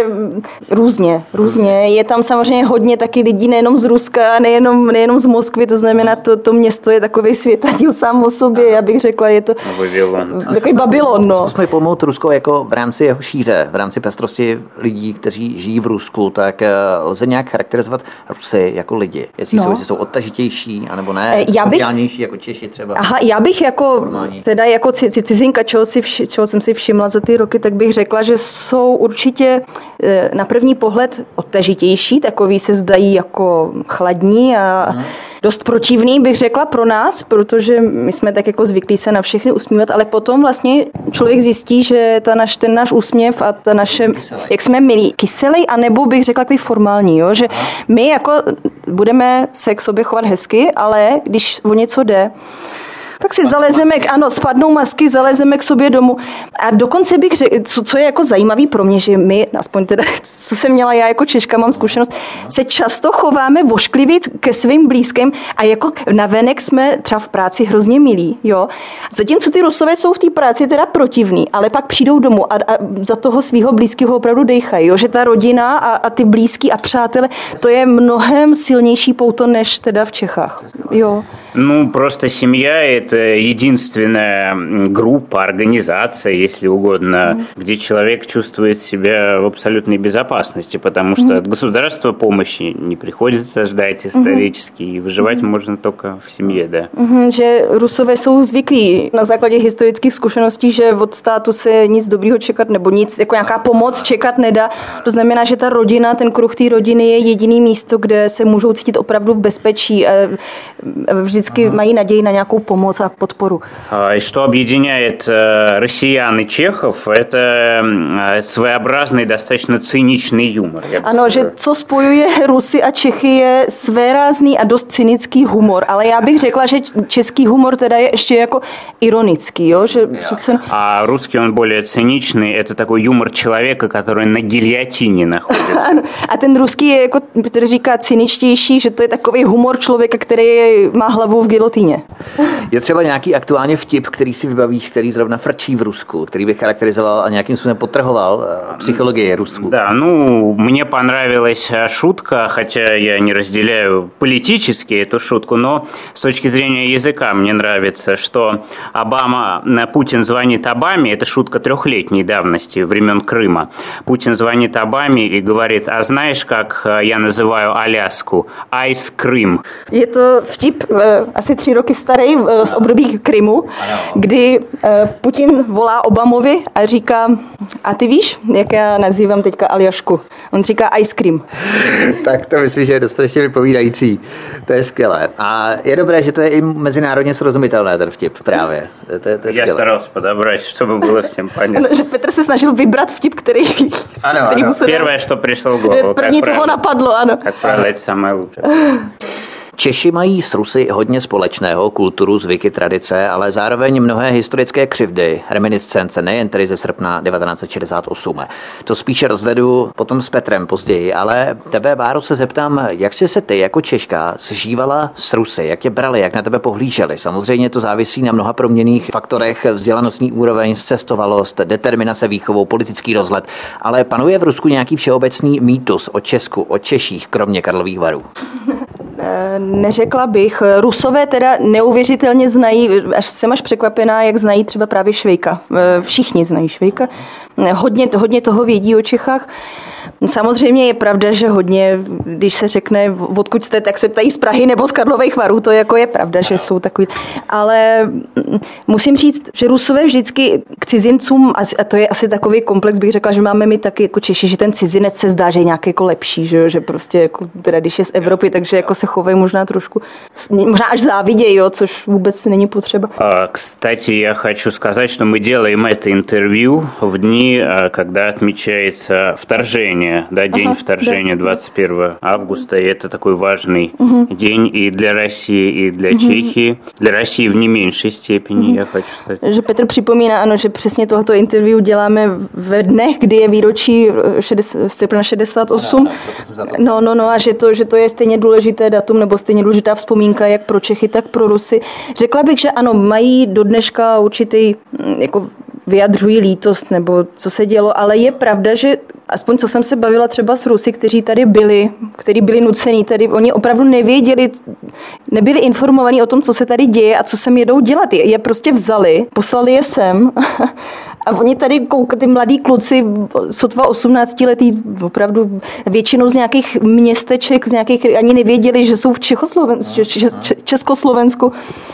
různě. Je tam samozřejmě hodně taky lidí, nejenom z Ruska, nejenom z Moskvy, to znamená, to město je takový světadíl sám o sobě, já bych řekla, je to takový Babylon, no. Zkusme pojmout Rusko jako v rámci jeho šíře, v rámci pestrosti lidí, kteří žijí v Rusku, tak lze nějak charakterizovat Rusy jako lidi. Jestli jsou odtažitější, anebo ne, sociálnější jako Češi třeba. Aha, já bych jako cizinka, čeho jsem si všimla za ty roky, tak bych řekla, že jsou určitě na první pohled odtažitější, takový se zdají jako chladní a dost protivný, bych řekla pro nás, protože my jsme tak jako zvyklí se na všechny usmívat, ale potom vlastně člověk zjistí, že ten náš úsměv a ta naše, jak jsme milí, kyselej, anebo bych řekla takový formální, jo? Že my jako budeme se k sobě chovat hezky, ale když o něco jde, tak si zalezeme, spadnou masky, zalezeme k sobě domů. A dokonce bych řekl, co je jako zajímavý pro mě, že my, aspoň teda, co jsem měla já jako Češka, mám zkušenost, se často chováme vošklivě ke svým blízkým a jako navenek jsme třeba v práci hrozně milí, jo. Zatímco ty Rusové jsou v té práci teda protivní, ale pak přijdou domů a za toho svého blízkého opravdu dejchají, jo. Že ta rodina a ty blízký a přátelé, to je mnohem silnější pouto, než teda v Čechách, jo. Ну, просто семья – это единственная группа, организация, если угодно, где человек чувствует себя в абсолютной безопасности, потому что от государства помощи не приходится ждать исторически, и выживать можно только в семье, да. Že Rusové jsou zvyklí na základě historických zkušeností, že od státu se nic dobrýho čekat nebo nic, jako nějaká pomoc čekat nedá. To znamená, že ta rodina, ten kruh té rodiny je jediný místo, kde se můžou cítit opravdu v bezpečí a vždycky mají naději na nějakou pomoc a podporu. И что объединяет россиян и чехов, это своеобразный, достаточно циничный юмор. Ano, že co spojuje Rusy a Čechy je svérázný a dost cynický humor, ale já bych řekla, že český humor teda je ještě jako ironický, jo, že přece... А русский он более циничный, это такой юмор человека, который на гильотине находится. Ano, a ten ruský je jako Petr říká cyničtější, že to je takový humor člověka, který má hlavu hlavu v gilotýně. Je třeba nějaký aktuálně vtip, který si vybavíš, který zrovna frčí v Rusku, který by charakterizoval a nějakým způsobem podtrhoval psychologii Rusku? Да, мне понравилась шутка, хотя я не разделяю политически эту шутку, но с точки зрения языка мне нравится, что Путин звонит Обаме, это шутка 3-летней давности, времен Крыма. Путин звонит Обаме и говорит, а знаешь, как я называю Аляску? Ice Cream. Je to vtip asi 3 roky starý z období Krymu, kdy Putin volá Obamovi a říká, a ty víš, jak já nazývám teďka Aljašku? On říká ice cream. Tak to myslím, že je dostatečně vypovídající. To je skvělé. A je dobré, že to je i mezinárodně srozumitelné, ten vtip právě. To je skvělé. Já старался подобрать, чтобы было всем понятно. Že Petr se snažil vybrat vtip, který musel... Первое, что пришло в голову. První, co ho napadlo, ano. Как правило, это самое лучшее. Češi mají s Rusy hodně společného, kulturu, zvyky, tradice, ale zároveň mnohé historické křivdy, reminiscence, nejen tedy ze srpna 1968. To spíše rozvedu potom s Petrem později, ale tebe, Báro, se zeptám, jak jsi se ty jako Češka sžívala s Rusy, jak tě brali, jak na tebe pohlíželi. Samozřejmě to závisí na mnoha proměnných faktorech, vzdělanostní úroveň, zcestovalost, determinace výchovou, politický rozhled, ale panuje v Rusku nějaký všeobecný mýtus o Česku, o Češích, kromě Karlových Varů? Neřekla bych. Rusové teda neuvěřitelně znají, jsem až překvapená, jak znají třeba právě Švejka. Všichni znají Švejka. Hodně toho vědí o Čechách. Samozřejmě je pravda, že hodně, když se řekne, odkud jste, tak se ptají z Prahy nebo z Karlových Varů, to jako je pravda, že jsou takový. Ale musím říct, že Rusové vždycky k cizincům, a to je asi takový komplex, bych řekla, že máme my taky jako Češi, že ten cizinec se zdá, že je nějaký jako lepší, že prostě jako, teda když je z Evropy, takže jako se chovají možná trošku, možná až závidějí, jo, což vůbec není potřeba. Кстати, я хочу сказать, что мы делаем это интервью в дни, когда отмечается вторжение. День вторжения 21 августа, и это такой важный день и для России, и для Чехии. Для России в не меньшей степени, я хочу сказать. Že Petr připomíná, ano, že přesně tohoto interview děláme ve dnech, kdy je výročí srpna 68. No, a že to je stejně důležité datum, nebo stejně důležitá vzpomínka, jak pro Čechy, tak pro Rusy. Řekla bych, že ano, mají do dneška určitý, jako vyjadřují lítost, nebo co se dělo, ale je pravda, že aspoň co jsem se bavila třeba s Rusy, kteří tady byli, kteří byli nucení, tady oni opravdu nevěděli, nebyli informovaní o tom, co se tady děje a co sem jedou dělat. Je prostě vzali, poslali je sem a oni tady koukají, ty mladí kluci, sotva 18letý, opravdu většinou z nějakých městeček, z nějakých, ani nevěděli, že jsou v Československu.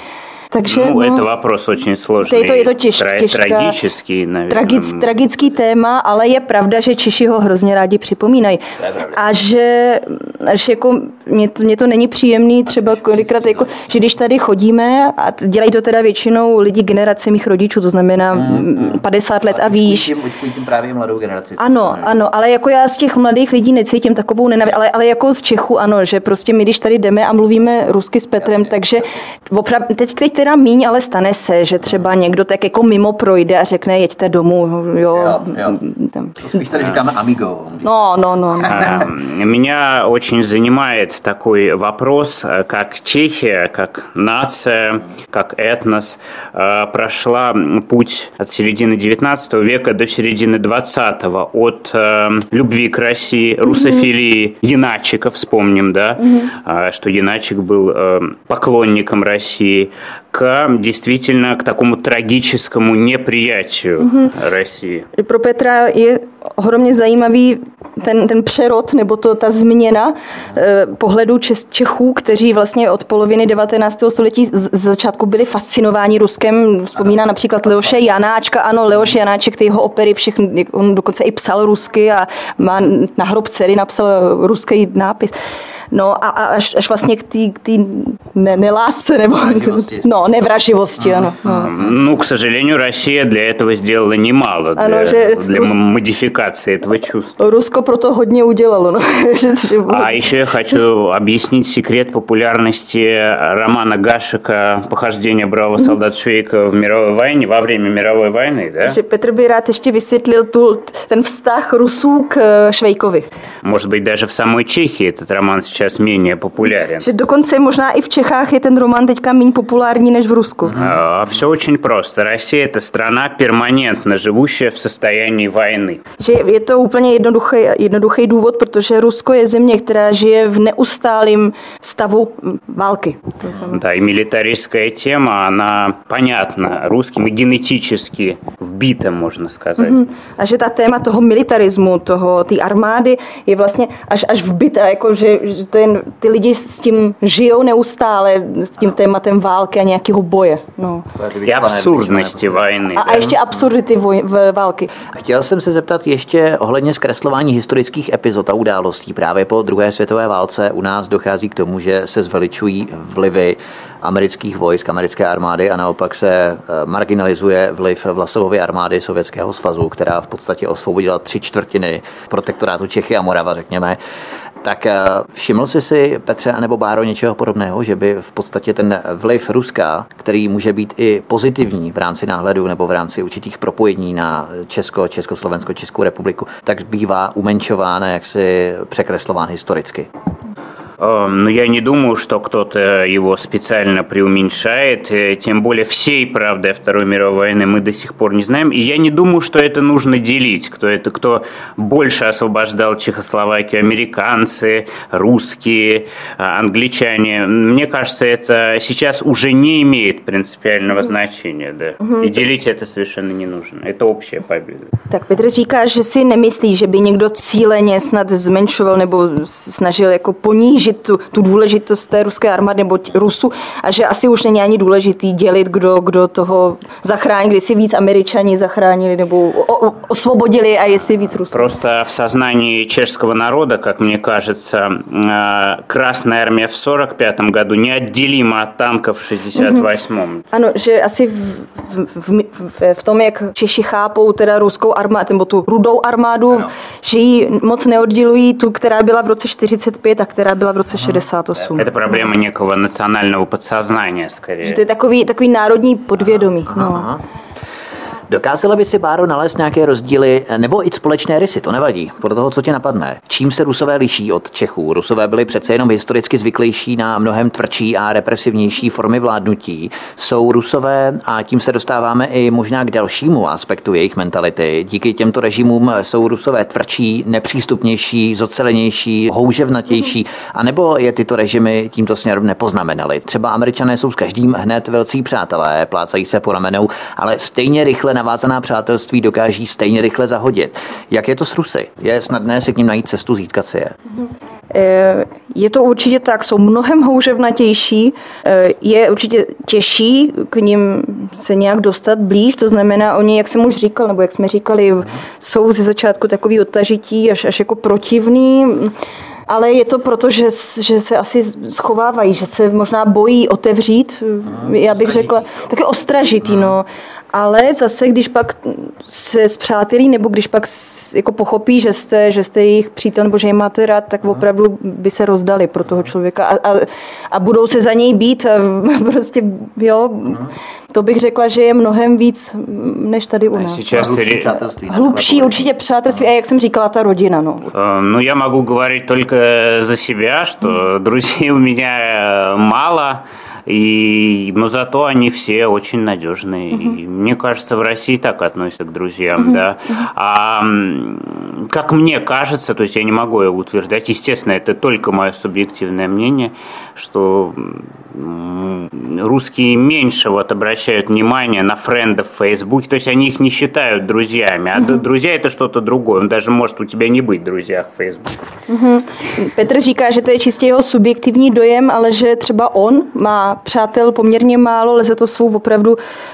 Takže, это вопрос очень сложный, je to трагический, наверное. Tragický téma, ale je pravda, že Češi ho hrozně rádi připomínají. A že jako mě to není příjemný, třeba kolikrát, jako, že když tady chodíme, a dělají to teda většinou lidi generace mých rodičů, to znamená 50 let a výš. Očkují tím právě mladou generaci. Ano, ale jako já z těch mladých lidí necítím takovou nenávist, ale jako z Čechů ano, že prostě my, když tady jdeme a mluvíme rusky s Petrem, takže opravdu, teď teda míň, ale stane se, že třeba někdo tak jako mimo projde a řekne, jeďte domů, jo. Spíš tady říkáme amigo. No. Меня очень занимает такой вопрос, как Чехия, как нация, как этнос прошла путь от середины 19 века до середины 20-го, от любви к России, русофилии Яначика, вспомним, да, что Яначик был поклонником России, к действительно к такому трагическому неприятию России. Pro Petra je ohromně zajímavý ten přerod, nebo ta změna pohledu Čechů, kteří vlastně od poloviny 19. století z začátku byli fascinováni Ruskem. Vzpomíná například Leoše Janáčka. Ano, Leoš Janáček, ty jeho opery, všechny, on dokonce i psal rusky a má na hrob dcery napsal ruský nápis. No a až vlastně k té nelásce, nebo nevraživosti, ano. Ну, к сожалению, Россия для этого сделала немало, для модификации этого чувства. Rusko proto hodně udělalo. No. А еще я хочу объяснить секрет популярности романа Гашека «Похождение бравого солдата Швейка в мировой войне», во время мировой войны, да? Že Petr by rád ještě vysvětlil ten vztah Rusů k Švejkovi. Может быть, даже в самой Чехии этот роман сейчас сейчас менее популярен. Že dokonce možná i v Čechách je ten román teďka méně populární než v Rusku. Все очень просто. Россия – это страна, перманентно живущая в состоянии войны. Že je to úplně jednoduchý důvod, protože Rusko je země, která žije v neustálém stavu války. Да, и милитаристская тема, она понятна русским и генетически вбита, можно сказать. A že ta téma toho militarismu, té armády je vlastně až vbitá, jako že ty lidi s tím žijou neustále, s tím tématem války a nějakého boje. No. И абсурдности войны. A ještě absurdity války. Chtěl jsem se zeptat ještě ohledně zkreslování historických epizod a událostí. Právě po druhé světové válce u nás dochází k tomu, že se zveličují vlivy amerických vojsk, americké armády a naopak se marginalizuje vliv Vlasovovy armády Sovětského svazu, která v podstatě osvobodila 3/4 protektorátu Čechy a Morava, řekněme. Tak všiml jsi si, Petře nebo Báro, něčeho podobného, že by v podstatě ten vliv Ruska, který může být i pozitivní v rámci náhledu nebo v rámci určitých propojení na Česko, Československo, Českou republiku, tak bývá umenšován a jaksi překreslován historicky? Но я не думаю, что кто-то его специально преуменьшает, тем более всей правды о Второй мировой войны мы до сих пор не знаем, и я не думаю, что это нужно делить, кто больше освобождал Чехословакию, американцы, русские, англичане. Мне кажется, это сейчас уже не имеет принципиального значения, да, и делить это совершенно не нужно, это общая победа. Tak Petr říká, že si nemyslí, že by někdo cíleně snad zmenšoval nebo snažil jako ponížit tu důležitost té ruské armády nebo Rusu a že asi už není ani důležitý dělit, kdo toho zachránil, když si víc Američani zachránili nebo osvobodili a jestli víc Rusů. Просто в сознании чешского народа, как мне кажется, Красная армия в 45 году неотделима от танков в 68. Ano, že asi v tom, jak Češi chápou teda ruskou armádu, nebo tu rudou armádu, ano, že ji moc neoddělují tu, která byla v roce 45 a která byla v roce 68. Это проблема некого национального подсознания, скорее. Že to je takový národní podvědomí. No. Dokázala by si, Báro, nalézt nějaké rozdíly nebo i společné rysy, to nevadí, podle toho, co tě napadne. Čím se Rusové liší od Čechů? Rusové byli přece jenom historicky zvyklejší na mnohem tvrdší a represivnější formy vládnutí. Jsou Rusové, a tím se dostáváme i možná k dalšímu aspektu jejich mentality. Díky těmto režimům jsou Rusové tvrdší, nepřístupnější, zocelenější, houževnatější, anebo je tyto režimy tímto směrem nepoznamenaly. Třeba Američané jsou s každým hned velcí přátelé, plácají se po ramenou, ale stejně rychle navázaná přátelství dokáží stejně rychle zahodit. Jak je to s Rusy? Je snadné si k ním najít cestu, získat si je? Je to určitě tak, jsou mnohem houževnatější, je určitě těžší k ním se nějak dostat blíž, to znamená, oni, jak jsem už říkal, nebo jak jsme říkali, jsou ze začátku takový odtažití, až jako protivný, ale je to proto, že se asi schovávají, že se možná bojí otevřít, já bych řekla, taky ostražitý, no. Ale zase, když pak se spřátelí, nebo když pak jako pochopí, že jste jejich přítel, nebo že je máte rád, tak opravdu by se rozdali pro toho člověka a budou se za něj být a prostě, jo, to bych řekla, že je mnohem víc, než tady u nás. Hlubší určitě přátelství, a jak jsem říkala, ta rodina, no. Ну, я могу говорить только за себя, что друзей у меня мало, но зато они все очень надежные. И мне кажется, в России так относятся к друзьям, да. А как мне кажется, то есть я не могу утверждать, естественно, это только мое субъективное мнение, что русские меньше вот обращают внимание на френдов в Фейсбуке, то есть они их не считают друзьями, а друзья это что-то другое, он даже может у тебя не быть в друзьях в Фейсбуке. Petr říká, že to je čistě jeho subjektivní dojem, ale že třeba on má přátel poměrně málo, ale za to jsou opravdu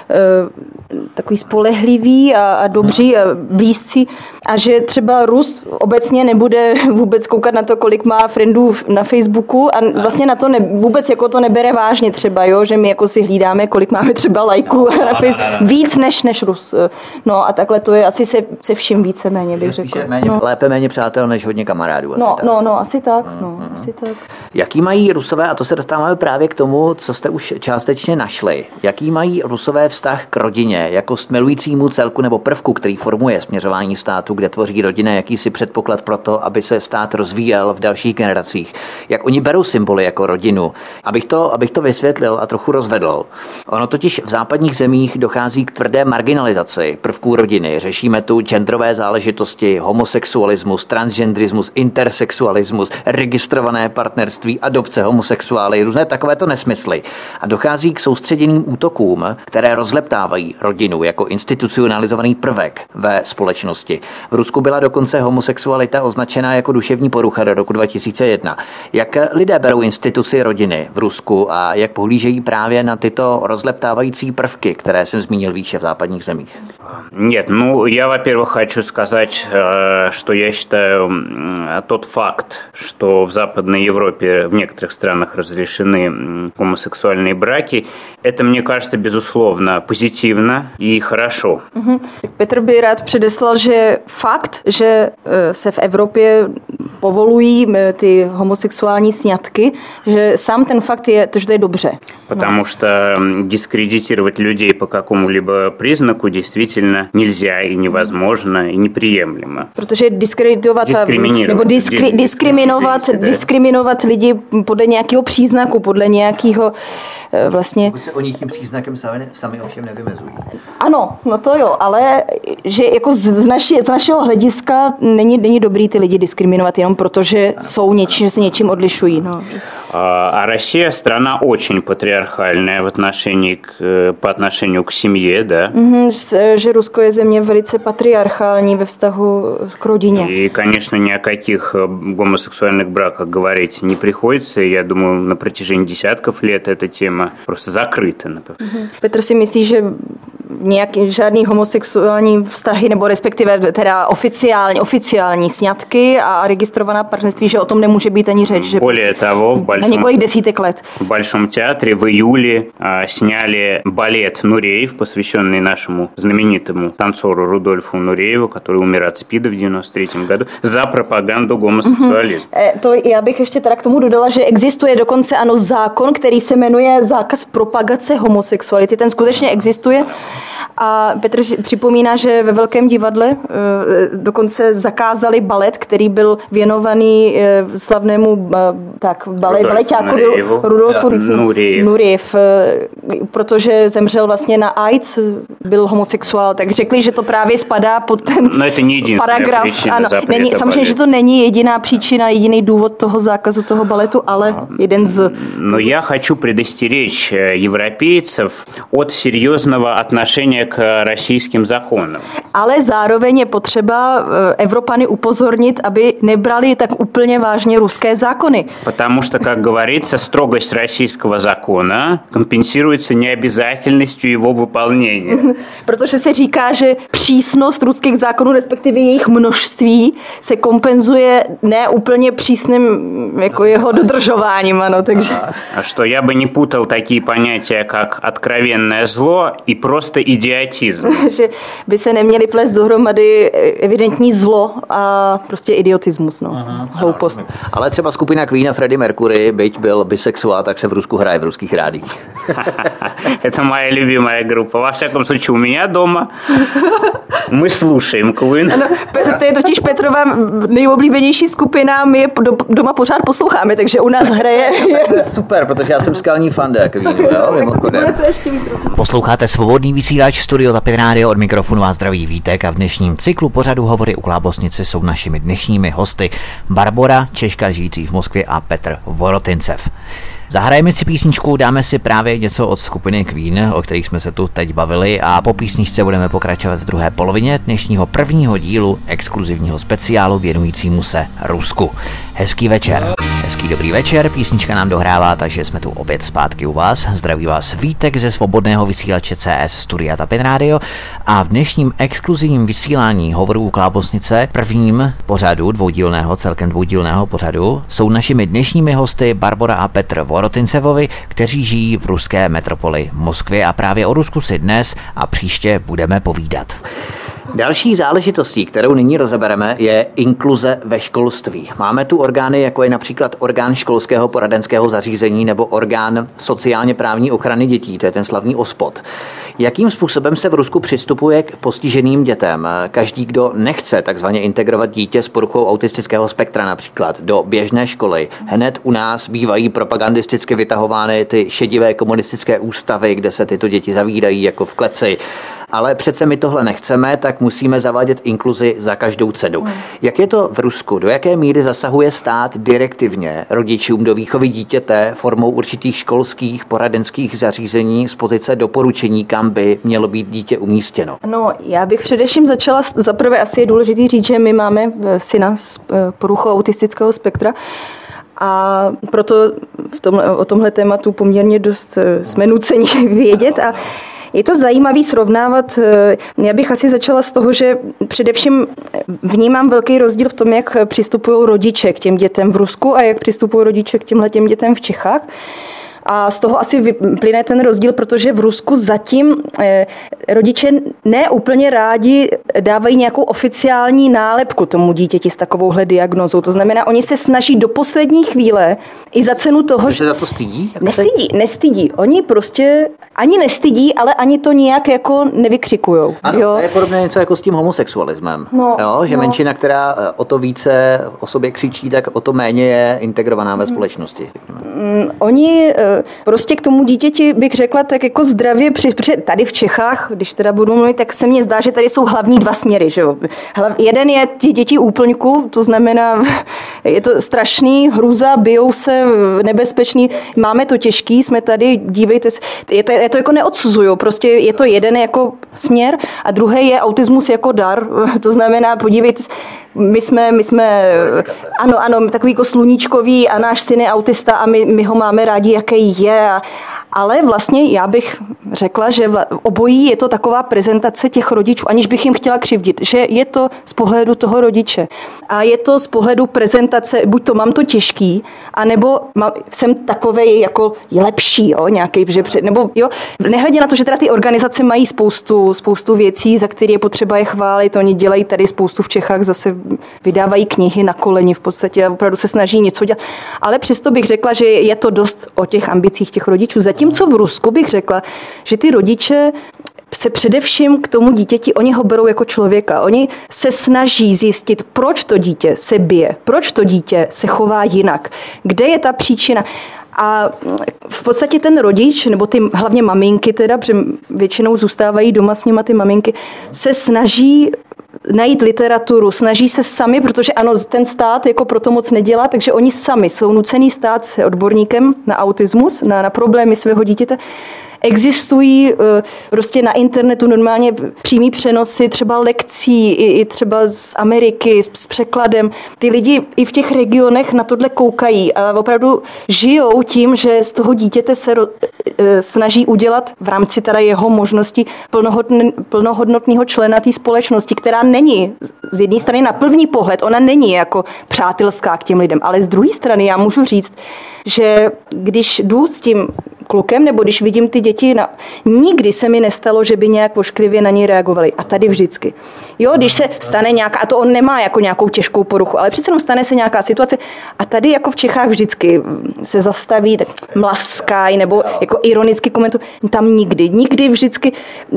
takový spolehlivý a dobří a blízcí a že třeba Rus obecně nebude vůbec koukat na to, kolik má friendů na Facebooku a vlastně na to vůbec jako to nebere vážně třeba, jo, že my jako si hlídáme, kolik máme třeba lajků na Facebooku, víc než Rus. No a takhle to je asi se vším víceméně, bych řekla. Lépe méně přátel než hodně kamarádů. Asi tak. Asi tak. Jaký mají Rusové, a to se dostáváme právě k tomu, co jste už částečně našli, jaký mají Rusové vztah k rodině jako k milujícímu celku nebo prvku, který formuje směřování státu kde tvoří rodina jakýsi předpoklad pro to, aby se stát rozvíjel v dalších generacích. Jak oni berou symboly jako rodinu. Abych to vysvětlil a trochu rozvedl. Ono totiž v západních zemích dochází k tvrdé marginalizaci prvků rodiny. Řešíme tu genderové záležitosti, homosexualismus, transgenderismus, intersexualismus, registrované partnerství, adopce, homosexuály, různé takovéto nesmysly. A dochází k soustředěným útokům, které rozleptávají rodinu jako institucionalizovaný prvek ve společnosti. V Rusku byla dokonce homosexualita označena jako duševní porucha do roku 2001. Jak lidé berou instituci rodiny v Rusku a jak pohlížejí právě na tyto rozleptávající prvky, které jsem zmínil výše v západních zemích? Нет, я, во-первых, хочу сказать, что я считаю тот факт, что в Западной Европе в некоторых странах разрешены гомосексуальные браки, это, мне кажется, безусловно, позитивно и хорошо. Petr by rád předeslal, že fakt, že se v Evropě povolují ty homosexuální sňatky, že sám ten fakt je, že to je dobře. Потому что дискредитировать людей по какому-либо признаку действительно нельзя и невозможно и неприемлемо. Protože diskriminovat lidi podle nějakého příznaku, podle nějakého vlastně... Pokud se oni tím příznakem sami ovšem nevymezují. Ano, no to jo, ale že jako z našeho hlediska není dobrý ty lidi diskriminovat jenom proto, že že se něčím odlišují. No. А Россия страна очень патриархальная по отношению к семье, да? Že Rusko je země velice patriarchální ve vztahu k rodině. И, конечно, ни о каких гомосексуальных браках говорить не приходится. Я думаю, на протяжении десятков лет эта тема просто закрыта. Petr si myslí, že žádný homosexuální vztahy, nebo respektive teda oficiální sňatky a registrovaná partnerství, že o tom nemůže být ani řeč. Že Более того, na několik desítek let. В Большом театре в июле сняли балет «Нуреев», посвященный нашему знаменитому танцору Рудольфу Нурееву, который умер от СПИДа в 1993 году, za propagandu homosexualismu. Já bych ještě teda k tomu dodala, že existuje dokonce zákon, který se jmenuje zákaz propagace homosexuality. Ten skutečně existuje. A Petr připomíná, že ve Velkém divadle dokonce zakázali balet, který byl věnovaný slavnému baleťákovi Rudolfu Nurejev, protože zemřel vlastně na AIDS, byl homosexuál, tak řekli, že to právě spadá pod ten paragraf. Ano, samozřejmě, že to není jediná příčina, jediný důvod toho zákazu toho baletu, ale jeden z... Но я хочу предостеречь европейцев от серьезного отношения к российским законам. Ale zároveň je potřeba Evropany upozornit, aby nebrali tak úplně vážně ruské zákony. Потому что, как говорится, строгость российского закона компенсируется необязательностью его выполнения. Protože se říká, že přísnost ruských zákonů, respektive jejich množství, se kompenzuje ne úplně přísným jako jeho dodržováním, ano, takže... А что я бы не путал такие понятия, как откровенное зло и просто идиотизм. Že by se neměli plést dohromady evidentní zlo a prostě idiotismus, no. Hloupost. Ale třeba skupina Queen a Freddie Mercury, byť byl bisexuál, tak se v Rusku hraje v ruských rádiích. Это моя любимая группа. Во всяком случае, у меня дома мы слушаем Queen. Ano, to je totiž Petrova nejoblíbenější skupina, my je doma pořád posloucháme, takže u nás hraje. To je super, protože já jsem skalní fanda Queenu, jo, mimochodem. Posloucháte Svobodný vysílač Studio Tapin Radio, od mikrofonu vás zdraví Vítek a v dnešním cyklu pořadu Hovory u Klábosnice jsou našimi dnešními hosty Barbora, Češka žijící v Moskvě, a Petr Vorotincev. Zahrajeme si písničku, dáme si právě něco od skupiny Queen, o kterých jsme se tu teď bavili, a po písničce budeme pokračovat v druhé polovině dnešního prvního dílu exkluzivního speciálu věnujícímu se Rusku. Hezký večer. Hezký dobrý večer, písnička nám dohrává, takže jsme tu opět zpátky u vás. Zdraví vás Vítek ze Svobodného vysílače CS Studia Tapin Radio a v dnešním exkluzivním vysílání Hovorů u Klábosnice, prvním pořadu celkem dvoudílného pořadu, jsou našimi dnešními hosty Barbora a Petr Vorotincevovi, kteří žijí v ruské metropoli Moskvě, a právě o Rusku si dnes a příště budeme povídat. Další záležitostí, kterou nyní rozebereme, je inkluze ve školství. Máme tu orgány, jako je například orgán školského poradenského zařízení nebo orgán sociálně právní ochrany dětí, to je ten slavný OSPOD. Jakým způsobem se v Rusku přistupuje k postiženým dětem? Každý, kdo nechce takzvaně integrovat dítě s poruchou autistického spektra například do běžné školy, hned u nás bývají propagandisticky vytahovány ty šedivé komunistické ústavy, kde se tyto děti zavírají jako v kleci. Ale přece my tohle nechceme, tak musíme zavádět inkluzi za každou cenu. Jak je to v Rusku? Do jaké míry zasahuje stát direktivně rodičům do výchovy dítěte formou určitých školských poradenských zařízení z pozice doporučení, kam by mělo být dítě umístěno? No, já bych především začala, zaprvé asi je důležité říct, že my máme syna s poruchou autistického spektra, a proto o tomhle tématu poměrně dost jsme nuceni vědět a je to zajímavý srovnávat. Já bych asi začala z toho, že především vnímám velký rozdíl v tom, jak přistupují rodiče k těm dětem v Rusku a jak přistupují rodiče k těmhletěm dětem v Čechách. A z toho asi vyplyne ten rozdíl, protože v Rusku zatím rodiče ne úplně rádi dávají nějakou oficiální nálepku tomu dítěti s takovouhle diagnózou. To znamená, oni se snaží do poslední chvíle i za cenu toho, že se za to stydí? Nestydí. Oni prostě ani nestydí, ale ani to nijak jako nevykřikujou. Ano, jo? To je podobně něco jako s tím homosexualismem. Že menšina, která o to více o sobě křičí, tak o to méně je integrovaná ve společnosti. Oni prostě k tomu dítěti bych řekla tak jako zdravě, tady v Čechách, když teda budu mluvit, tak se mně zdá, že tady jsou hlavní dva směry. Že jo? Jeden je ty děti úplňku, to znamená, je to strašný, hrůza, bijou se, nebezpečný, máme to těžký, jsme tady, dívejte se, je to jako neodsuzuju, prostě je to jeden jako směr a druhý je autismus jako dar, to znamená, podívejte se, my jsme ano, takový jako sluníčkový a náš syn je autista a my ho máme rádi, jaký je. Ale vlastně já bych řekla, že obojí je to taková prezentace těch rodičů, aniž bych jim chtěla křivdit, že je to z pohledu toho rodiče. A je to z pohledu prezentace, buď to mám to těžký, anebo jsem takovej jako lepší, jo, nějaký, nebo jo, nehledě na to, že teda ty organizace mají spoustu věcí, za které je potřeba je chválit, oni dělají tady spoustu v Čechách, zase vydávají knihy na koleni v podstatě a opravdu se snaží něco dělat. Ale přesto bych řekla, že je to dost o těch ambicích těch rodičů. Zatímco v Rusku bych řekla, že ty rodiče se především k tomu dítěti, oni ho berou jako člověka. Oni se snaží zjistit, proč to dítě se bije, proč to dítě se chová jinak, kde je ta příčina. A v podstatě ten rodič, nebo ty hlavně maminky teda, protože většinou zůstávají doma s nima ty maminky, se snaží najít literaturu, snaží se sami, protože ano, ten stát jako proto moc nedělá, takže oni sami jsou nucený stát se odborníkem na autismus, na problémy svého dítěte. Existují prostě na internetu normálně přímý přenosy, třeba lekcí, i třeba z Ameriky, s překladem. Ty lidi i v těch regionech na tohle koukají a opravdu žijou tím, že z toho dítěte se snaží udělat v rámci teda jeho možností plnohodnotného člena té společnosti, která není z jedné strany na první pohled, ona není jako přátelská k těm lidem, ale z druhé strany já můžu říct, že když jdu s tím klukem, nebo když vidím ty děti, nikdy se mi nestalo, že by nějak ošklivě na ní reagovali. A tady vždycky. Jo, když se stane nějaká, a to on nemá jako nějakou těžkou poruchu, ale přece jenom stane se nějaká situace a tady jako v Čechách vždycky se zastaví, tak mlaskají nebo jako ironicky komentují. Tam nikdy vždycky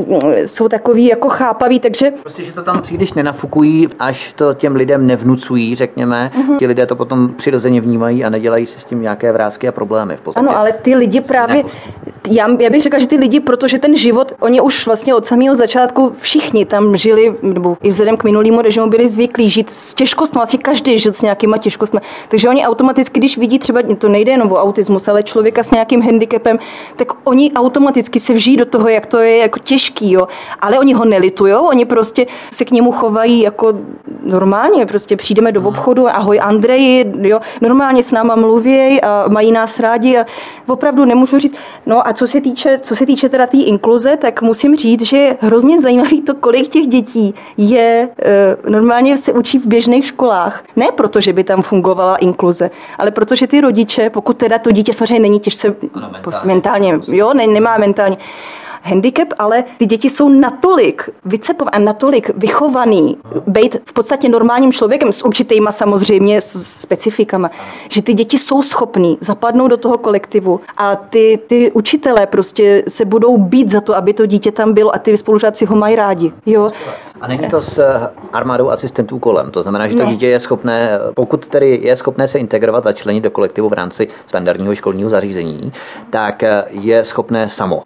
jsou takový jako chápaví, takže... Prostě, že to tam příliš nenafukují, až to těm lidem nevnucují, řekněme. Ti lidé to potom přirozeně vnímají a nedělají si s tím nějaké vrásky a problémy v podstatě. Ano, ale ty lidi právě, já bych řekla, že ty lidi, protože ten život, oni už vlastně od samého začátku všichni tam žili, nebo i vzhledem k minulému režimu byli zvyklí žít s těžkostmi, asi každý žil s nějakýma těžkostmi. Takže oni automaticky, když vidí třeba, to nejde jenom o autismus, ale člověka s nějakým handicapem, tak oni automaticky se vžijí do toho, jak to je jako těžký, jo. Ale oni ho nelitujou, oni prostě se k němu chovají jako normálně, prostě přijdeme do obchodu, ahoj Andreji, jo, normálně s náma mluví a mají nás rádi a opravdu nemůžu říct. No a co se týče teda té inkluze, tak musím říct, že je hrozně zajímavý to, kolik těch dětí je normálně se učí v běžných školách. Ne proto, že by tam fungovala inkluze, ale protože ty rodiče, pokud teda to dítě samozřejmě není těžce mentálně, jo, nemá mentálně, handicap, ale ty děti jsou natolik vycepovaný, natolik vychovaný, být v podstatě normálním člověkem s určitýma samozřejmě specifikama, že ty děti jsou schopný zapadnout do toho kolektivu a ty učitelé prostě se budou bít za to, aby to dítě tam bylo a ty spolužáci ho mají rádi. Jo. A není to s armádou asistentů kolem. To znamená, že to dítě je schopné, pokud tedy je schopné se integrovat a členit do kolektivu v rámci standardního školního zařízení, tak je schopné samo.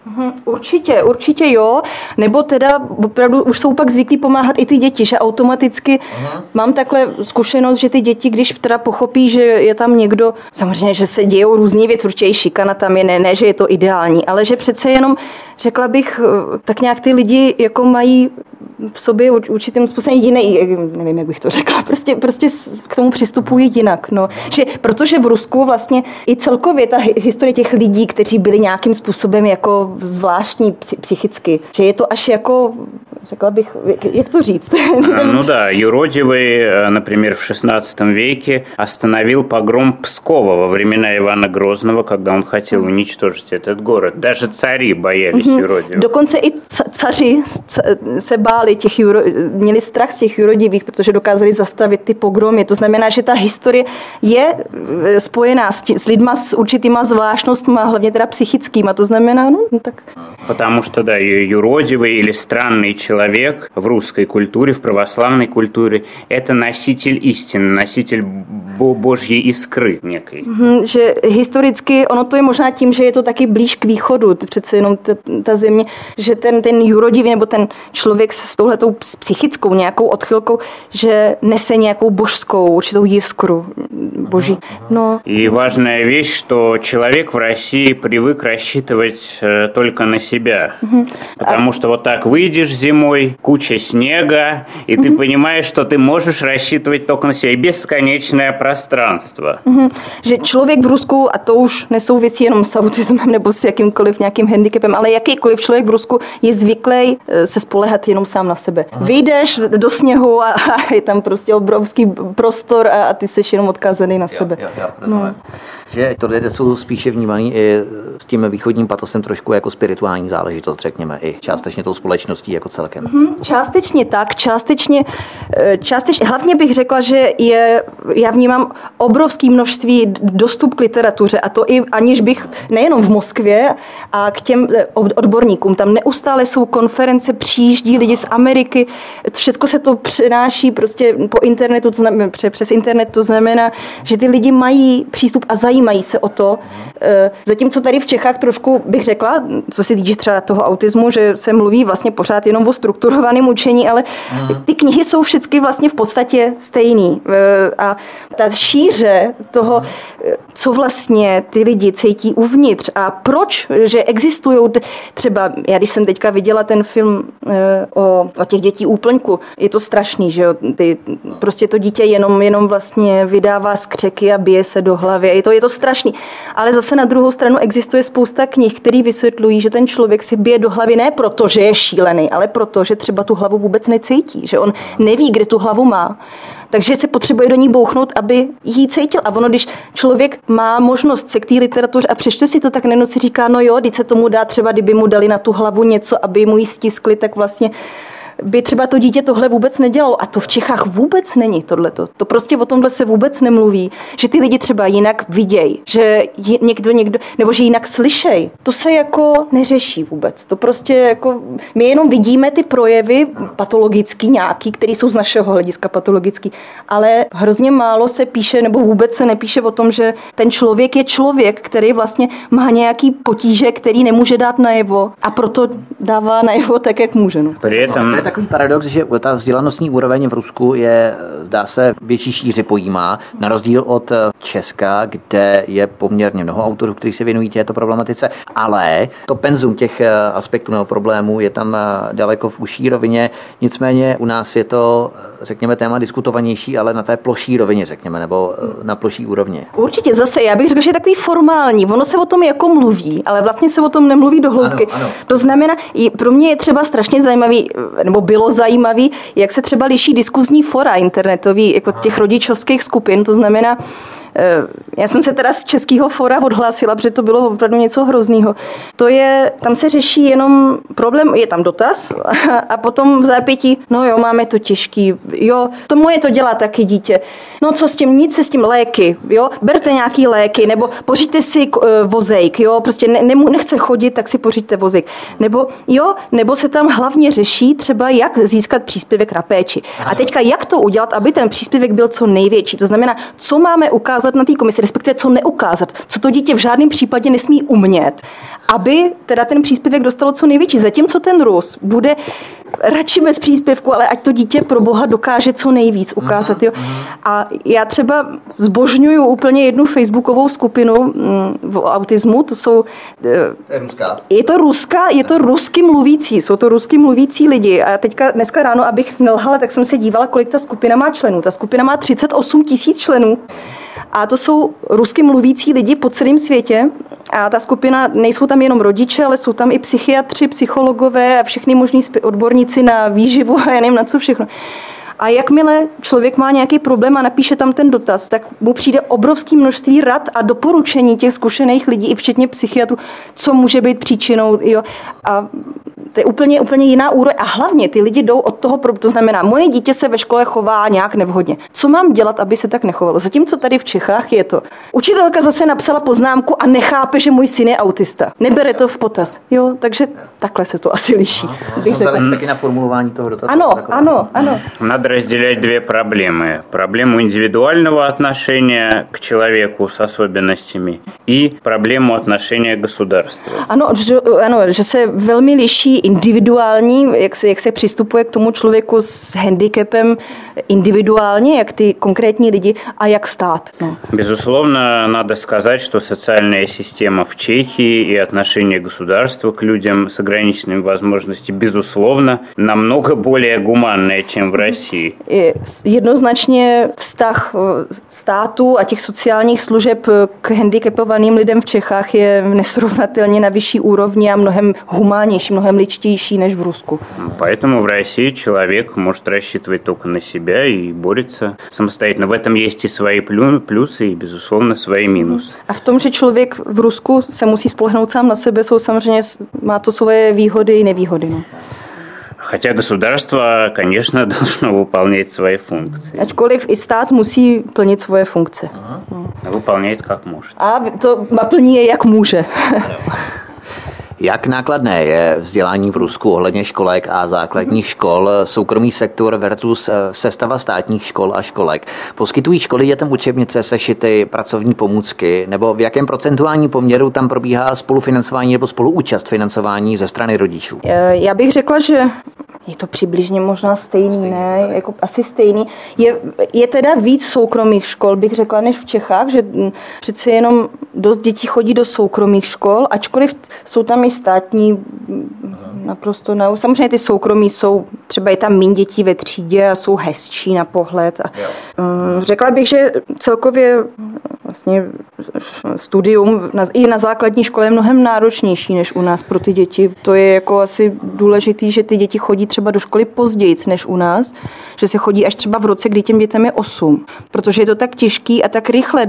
Určitě jo. Nebo teda opravdu už jsou pak zvyklí pomáhat i ty děti, že automaticky mám takhle zkušenost, že ty děti, když teda pochopí, že je tam někdo, samozřejmě, že se dějou různý věci, určitě šikana tam je, ne, že je to ideální, ale že přece jenom, řekla bych, tak nějak ty lidi jako mají v sobě určitým způsobem jiný, nevím, jak bych to řekla, prostě k tomu přistupují jinak. No. Že, protože v Rusku vlastně i celkově ta historie těch lidí, kteří byli nějakým způsobem jako zvláštní psychicky, že je to až jako, řekla bych, jak to říct? Ну да, юродивый, например, в XVI веке остановил погром Пскова во времена Ивана Грозного, когда он хотел уничтожить этот город. Даже цари боялись юродивых. Dokonce i caři se báli měli strach z těch jurodivých, protože dokázali zastavit ty pogromy. To znamená, že ta historie je spojená s lidma s určitýma zvláštnostma, hlavně teda psychickýma. To znamená, no tak... Потому что, да, юродивый или странный человек в русской культуре, в православной культуре, это носитель истины, носитель Божьей искры некой. Že historicky, ono to je možná tím, že je to taky blíž k východu, přece jenom ta země, že ten jurodivý nebo ten člověk s touhletou psychickou nějakou odchylkou, že nese nějakou božskou, určitou jiskru boží. No. И важная вещь, что человек в России привык рассчитывать только на себя. Потому что вот так выйдешь зимой, куча снега, и ты понимаешь, что ты можешь рассчитывать только на себя. И бесконечное пространство. Že člověk v Rusku, a to už nesouvisí jenom s autismem nebo s jakýmkoliv nějakým handicapem, ale jakýkoliv člověk v Rusku je zvyklý se spoléhat jenom sám na sebe. Vyjdeš do sněhu a je tam prostě obrovský prostor a ty seš jenom odkázaný na sebe. No. Že to lidé jsou spíše vnímaný i s tím východním patosem trošku jako spirituální záležitost, řekněme, i částečně tou společností jako celkem. Částečně tak, částečně, hlavně bych řekla, že já vnímám obrovské množství dostup k literatuře a to i aniž bych nejenom v Moskvě a k těm odborníkům, tam neustále jsou konference, přijíždí lidi z Ameriky, všechno se to přenáší prostě po internetu, přes internet, to znamená, že ty lidi mají přístup a zajímají se o to. Zatímco tady v Čechách trošku bych řekla, co se týče třeba toho autismu, že se mluví vlastně pořád jenom o strukturovaném učení, ale ty knihy jsou všechny vlastně v podstatě stejný. A ta šíře toho, co vlastně ty lidi cítí uvnitř a proč, že existují třeba, já když jsem teďka viděla ten film o těch dětí úplňku, je to strašný, že jo, prostě to dítě jenom vlastně vydává skřeky a bije se do hlavy, je to strašný. Ale zase na druhou stranu existuje spousta knih, které vysvětlují, že ten člověk si bije do hlavy ne proto, že je šílený, ale proto, že třeba tu hlavu vůbec necítí, že on neví, kde tu hlavu má. Takže se potřebuje do ní bouchnout, aby jí cítil. A ono, když člověk má možnost se k té literatuře a přečte si to, tak nejenom si říká, no jo, když se tomu dá třeba, kdyby mu dali na tu hlavu něco, aby mu ji stiskli, tak vlastně by třeba to dítě tohle vůbec nedělalo. A to v Čechách vůbec není tohleto. To prostě o tomhle se vůbec nemluví. Že ty lidi třeba jinak vidějí, že někdo, nebo že jinak slyšejí. To se jako neřeší vůbec. To prostě jako, my jenom vidíme ty projevy patologický nějaký, které jsou z našeho hlediska patologický, ale hrozně málo se píše, nebo vůbec se nepíše o tom, že ten člověk je člověk, který vlastně má nějaký potíže, který nemůže dát najevo a proto dává najevo tak, jak může. No. To je takový paradox, že ta vzdělanostní úroveň v Rusku je, zdá se, větší šíři pojímá, na rozdíl od Česka, kde je poměrně mnoho autorů, kteří se věnují této problematice, ale to penzum těch aspektů nebo problémů je tam daleko v užší rovině, nicméně u nás je to, řekněme, téma diskutovanější, ale na té ploší rovině, řekněme, nebo na ploší úrovni. Určitě zase, já bych řekl, že je takový formální, ono se o tom jako mluví, ale vlastně se o tom nemluví do hloubky. Ano. To znamená, pro mě je třeba strašně zajímavý, nebo bylo zajímavý, jak se třeba liší diskuzní fora internetový, jako těch rodičovských skupin, to znamená, Já jsem se teda z Českého fóra odhlásila, protože to bylo opravdu něco hroznýho. Tam se řeší jenom problém, je tam dotaz a potom v zápětí, no jo, máme to těžký, jo, to moje to dělá taky dítě. No co s tím, nic se s tím, léky, jo, berte nějaký léky, nebo pořiďte si vozejk, jo, prostě nechce chodit, tak si pořiďte vozejk. Nebo se tam hlavně řeší třeba, jak získat příspěvek na péči. A teďka jak to udělat, aby ten příspěvek byl co největší. To znamená, co máme ukázat na té komisi, respektive co neukázat, co to dítě v žádném případě nesmí umět, aby teda ten příspěvek dostalo co největší. Zatímco ten Rus bude radši bez příspěvku, ale ať to dítě pro Boha dokáže co nejvíc ukázat. Jo. A já třeba zbožňuju úplně jednu facebookovou skupinu v autismu, to je ruská. Je to rusky mluvící, jsou to rusky mluvící lidi. A dneska ráno, abych nelhala, tak jsem se dívala, kolik ta skupina má členů. Ta skupina má 38 000 členů. A to jsou rusky mluvící lidi po celém světě. A ta skupina, nejsou tam jenom rodiče, ale jsou tam i psychiatři, psychologové a všechny možný odborníci na výživu a já nevím na co všechno. A jakmile člověk má nějaký problém a napíše tam ten dotaz, tak mu přijde obrovské množství rad a doporučení těch zkušených lidí, i včetně psychiatrů, co může být příčinou. Jo. A to je úplně jiná úroveň. A hlavně ty lidi jdou od toho, to znamená, moje dítě se ve škole chová nějak nevhodně. Co mám dělat, aby se tak nechovalo? Zatímco tady v Čechách je to. Učitelka zase napsala poznámku a nechápe, že můj syn je autista. Nebere to v potaz. Jo, takže takhle se to asi liší. Taky na formulování toho dotazu. Ano. Надо разделять две проблемы. Проблему индивидуального отношения к человеку с особенностями и проблему отношения к государству. Ano, že se velmi liší individuální, jak se přistupuje k tomu člověku s handicapem individuálně, jak ty konkrétní lidi a jak stát. No. Безусловно, надо сказать, что социальная система в Чехии и отношение государства к людям с ограниченными возможностями, безусловно, намного более гуманное, чем в России. Jednoznačně vztah státu a těch sociálních služeb k handicapovaným lidem v Čechách je nesrovnatelně na vyšší úrovni a mnohem humánnější, mnohem ličtější než v Rusku. Поэтому в России человек может рассчитывать только на себя и борется самостоятельно. В этом есть и свои плюсы, и, безусловно, свои минусы. A v tom, že člověk v Rusku se musí spolehnout sám na sebe, má to svoje výhody i nevýhody. No. Хотя государство, конечно, должно выполнять свои функции. Ačkoliv i stát musí plnit svoje funkce. Выполняет как может. A to plní je, jak může. Jak nákladné je vzdělání v Rusku ohledně školek a základních škol, soukromý sektor versus sestava státních škol a školek? Poskytují školy dětem učebnice, sešity, pracovní pomůcky, nebo v jakém procentuálním poměru tam probíhá spolufinancování nebo spoluúčast financování ze strany rodičů? Já bych řekla, že je to přibližně možná stejný, ne? Jako asi stejný. Je teda víc soukromých škol, bych řekla, než v Čechách, že přece jenom dost dětí chodí do soukromých škol, ačkoliv jsou tam i státní naprosto. Samozřejmě ty soukromí jsou, třeba je tam méně dětí ve třídě a jsou hezčí na pohled. Řekla bych, že celkově vlastně studium i na základní škole je mnohem náročnější než u nás pro ty děti. To je jako asi důležitý, že ty děti chodí třeba do školy později než u nás, že se chodí až třeba v roce, kdy těm dětem je 8, protože je to tak těžký a tak rychle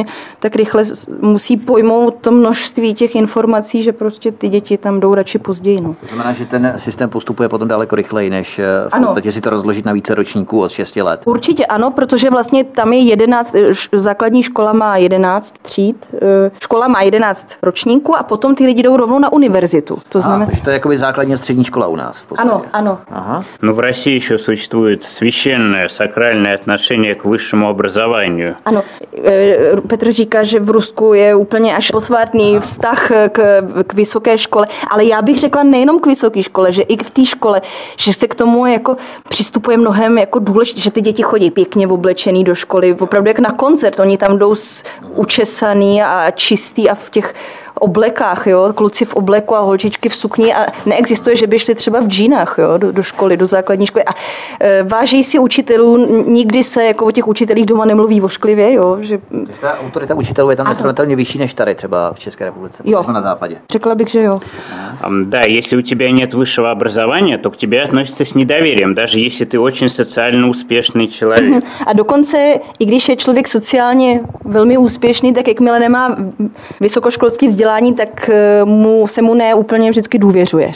musí pojmout to množství těch informací, že prostě ty děti tam jdou radši později. No. To znamená, že ten systém postupuje potom daleko rychleji, než v podstatě si to rozložit na více ročníků od 6 let. Určitě ano, protože vlastně tam je 11, základní škola má 11 tříd, škola má 11 ročníků a potom ty lidi jdou rovnou na univerzitu. To znamená... Takže to je jakoby základní střední škola u nás. Ano. Aha. Но в России еще существует священное, сакральное отношение к высшему образованию. Ano, Petr říká, že v Rusku je úplně až posvátný vztah k vysoké škole, ale já bych řekla nejenom k vysoké škole, že i v té škole, že se k tomu jako přistupuje mnohem jako důležité, že ty děti chodí pěkně oblečený do školy, opravdu jak na koncert, oni tam jdou učesaný a čistý a v těch oblekách, jo, kluci v obleku a holčičky v sukni a neexistuje, že by šli třeba v džínách, jo, do školy, do základní školy a váží si učitelů, nikdy se jako o těch učitelích doma nemluví vošklivě, jo, že... Ta autorita učitelů je tam nesrovnatelně vyšší než tady třeba v České republice, na západě. Řekla bych, že jo. Да, если у тебя нет высшего образования, то к тебе относятся с недоверием, даже если ты очень социально успешный человек. A dokonce, i když je člověk sociálně velmi úspěšný, tak jakmile nemá vysokoškolské vzdělání, tak se mu ne úplně vždycky důvěřuje.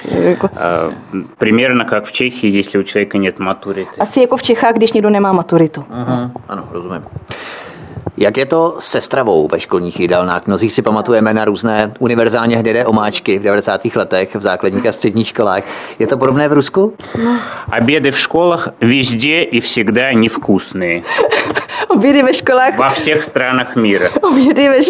Примерно как в Чехии, если у человека нет матурity. Asi jako v Čechách, když někdo nemá maturitu. Ano, rozumím. Jak je to se stravou ve školních jídelnách? Mnozí si pamatujeme na různé univerzálně hnědé omáčky v 90. letech v základních a středních školách. Je to podobné v Rusku? Obědy v školách везде и всегда невкусные. Obědy ve školách... Во всех странах мира. Obědy ve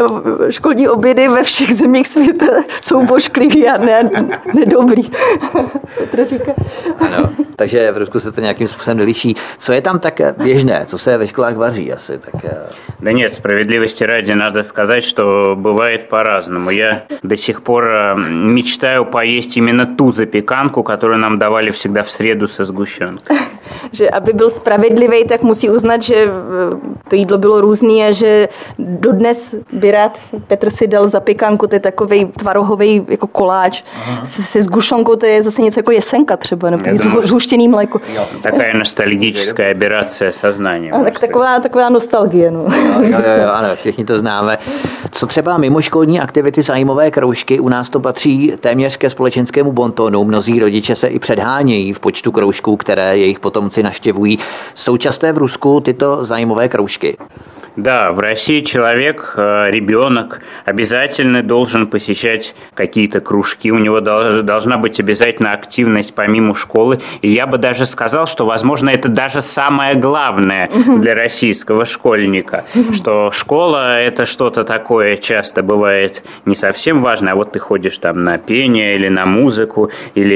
školní obědy ve všech zemích světa jsou bošklivý a nedobrý. Petra říká. Ano, takže v Rusku se to nějakým způsobem neliší. Co je tam tak běžné? Co se ve školách vaří asi? Tak... Да нет, справедливости ради надо сказать, что бывает по-разному. Я до сих пор мечтаю поесть именно ту запеканку, которую нам давали всегда в среду со сгущенкой. Že aby byl spravedlivý, tak musí uznat, že to jídlo bylo různý a že dodnes by rád Petr si dal zapěkanku, to je takovej tvarohový jako koláč se sgušonkou, to je zase něco jako jesenka třeba, nebo zhuštěný mléko. Такая ностальгическая операция сознания. Tak taková nostalgie. No. Jo, ano, všichni to známe. Co třeba mimoškolní aktivity, zájmové kroužky, u nás to patří téměř ke společenskému bontonu. Mnozí rodiče se i předhánějí v počtu kroužků, které jejich potomci navštěvují. Jsou časté v Rusku tyto zájmové kroužky? Да, в России человек, ребенок обязательно должен посещать какие-то кружки, у него должна быть обязательно активность помимо школы. И я бы даже сказал, что, возможно, это даже самое главное для российского школьника, что школа – это что-то такое часто бывает не совсем важное, а вот ты ходишь там на пение или на музыку,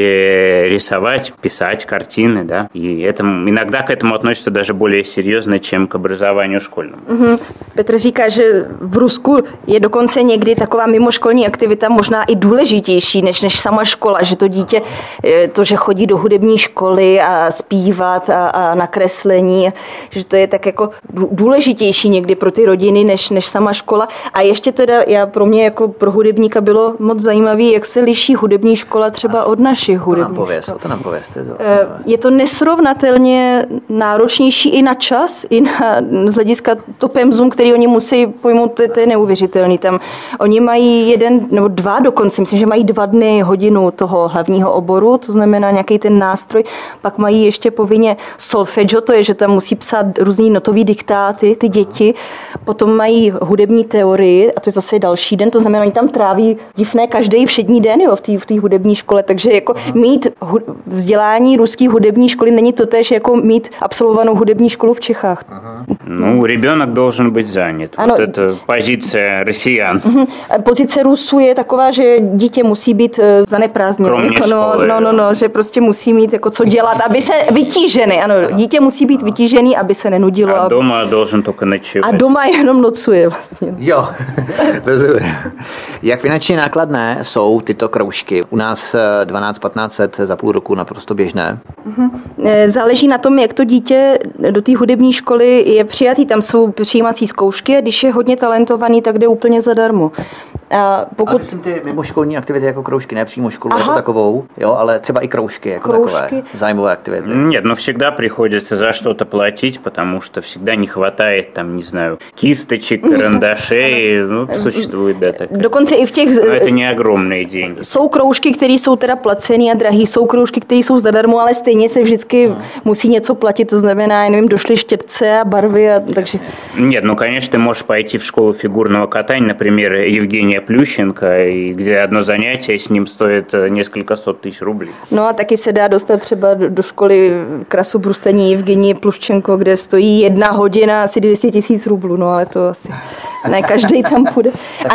или рисовать, писать картины, да, и иногда к этому относятся даже более серьезно, чем к образованию школьному. Petr říká, že v Rusku je dokonce někdy taková mimoškolní aktivita možná i důležitější než sama škola, že to dítě, to, že chodí do hudební školy a zpívat a na kreslení, že to je tak jako důležitější někdy pro ty rodiny než sama škola. A ještě teda pro mě jako pro hudebníka bylo moc zajímavé, jak se liší hudební škola třeba od našich hudebních škol. To nám povězte. Je to nesrovnatelně náročnější i na čas, i z hlediska to pemzum, který oni musí pojmout, to je neuvěřitelný. Tam oni mají 1 nebo 2 dokonce, myslím, že mají 2 dny hodinu toho hlavního oboru, to znamená nějaký ten nástroj, pak mají ještě povinně solfeggio, to je, že tam musí psát různý notový diktáty, ty děti, potom mají hudební teorii a to je zase další den, to znamená, oni tam tráví divné každý všední den, jo, v té hudební škole, takže jako mít vzdělání ruské hudební školy není totéž jako mít absolvovanou hudební školu v Čechách. Ну, ребенок должен быть занят. Ano, вот это позиция россиян. Pozice Rusů je taková, že dítě musí být zaneprázdněné. Jako, že prostě musí mít jako co dělat, aby se vytížený. Ano, dítě musí být vytížený, aby se nenudilo. A doma должен только ночевать. A doma jenom nocuje vlastně. Jo, rozumím. Jak finančně nákladné jsou tyto kroužky? U nás 12-1500 za půl roku naprosto běžné. Záleží na tom, jak to dítě do té hudební školy je přijatý. Tam jsou přijímací zkoušky a když je hodně talentovaný, tak jde úplně zadarmo. A myslím ty mimoškolní aktivity jako kroužky, ne přímo školu jako takovou, jo, ale třeba i kroužky jako takové, zájmové aktivity. Нет, но всегда приходится за что-то платить, потому что всегда не хватает там, не знаю, кисточек, карандашей, ну, существует, да, такая. Dokonce i v těch... Но это не огромные деньги. Jsou kroužky, které jsou teda placený a drahý, jsou kroužky, které jsou zadarmo, ale stejně se vždycky musí něco platit, to znamená, nevím, došly štětce a barvy a takže... Нет, ну, конечно, ты можешь пойти в школу фигурного катания, например, Евгения Плющенко, kde jedno занятие s ním stojí několika set tisíc rublí. No a taky se dá dostat třeba do školy krasu brustení Evgenie Pluščenko, kde stojí 1 hodina asi 200 000 rublů, no ale to asi ne každý tam půjde. A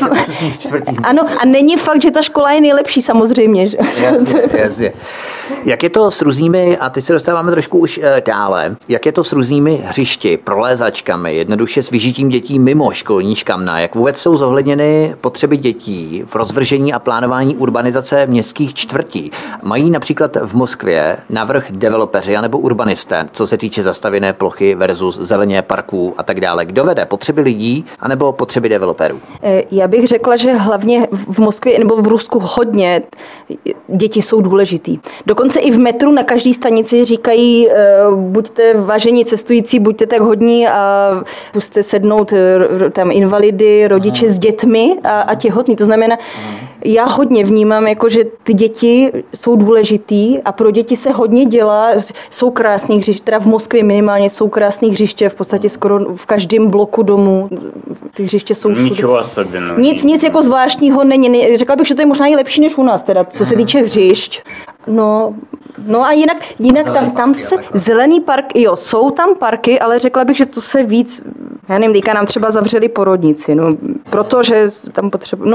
není fakt, že ta škola je nejlepší samozřejmě. Že? Jasně. Jak je to s různými, a teď se dostáváme trošku už dále, jak je to s různými hřišti, prolézačkami, jednoduše s vyžitím dětí mimo školní škamna, jak vůbec jsou zohledněny zároveň potřeby dětí v rozvržení a plánování urbanizace městských čtvrtí. Mají například v Moskvě navrch developeři anebo urbanisté, co se týče zastavěné plochy versus zeleně parků a tak dále. Kdo vede? Potřeby lidí anebo potřeby developerů? Já bych řekla, že hlavně v Moskvě nebo v Rusku hodně děti jsou důležitý. Dokonce i v metru na každé stanici říkají, buďte vážení cestující, buďte tak hodní a puste sednout tam invalidy, rodiče s dětmi a těhotní. To znamená, já hodně vnímám, jako, že ty děti jsou důležitý a pro děti se hodně dělá. Jsou krásný hřiště, teda v Moskvě minimálně jsou krásný hřiště, v podstatě skoro v každém bloku domu. Ty hřiště jsou všude. Ničeho особенного. Nic jako zvláštního není. Řekla bych, že to je možná i lepší než u nás, teda, co se týče hřišť. No a jinak tam se zelený park, jo, jsou tam parky, ale řekla bych, že to se víc, já nevím, teďka nám třeba zavřeli porodnici, no, protože tam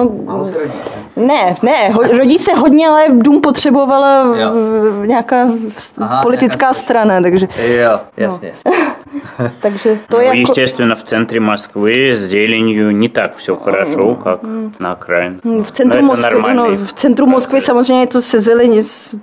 rodí se hodně, ale dům potřebovala nějaká politická strana, takže. Jo, jasně. Takže to je Естественно, в центре Москвы с зеленью не так все хорошо, как на окраине. V centru Moskvy samozřejmě to se zelení,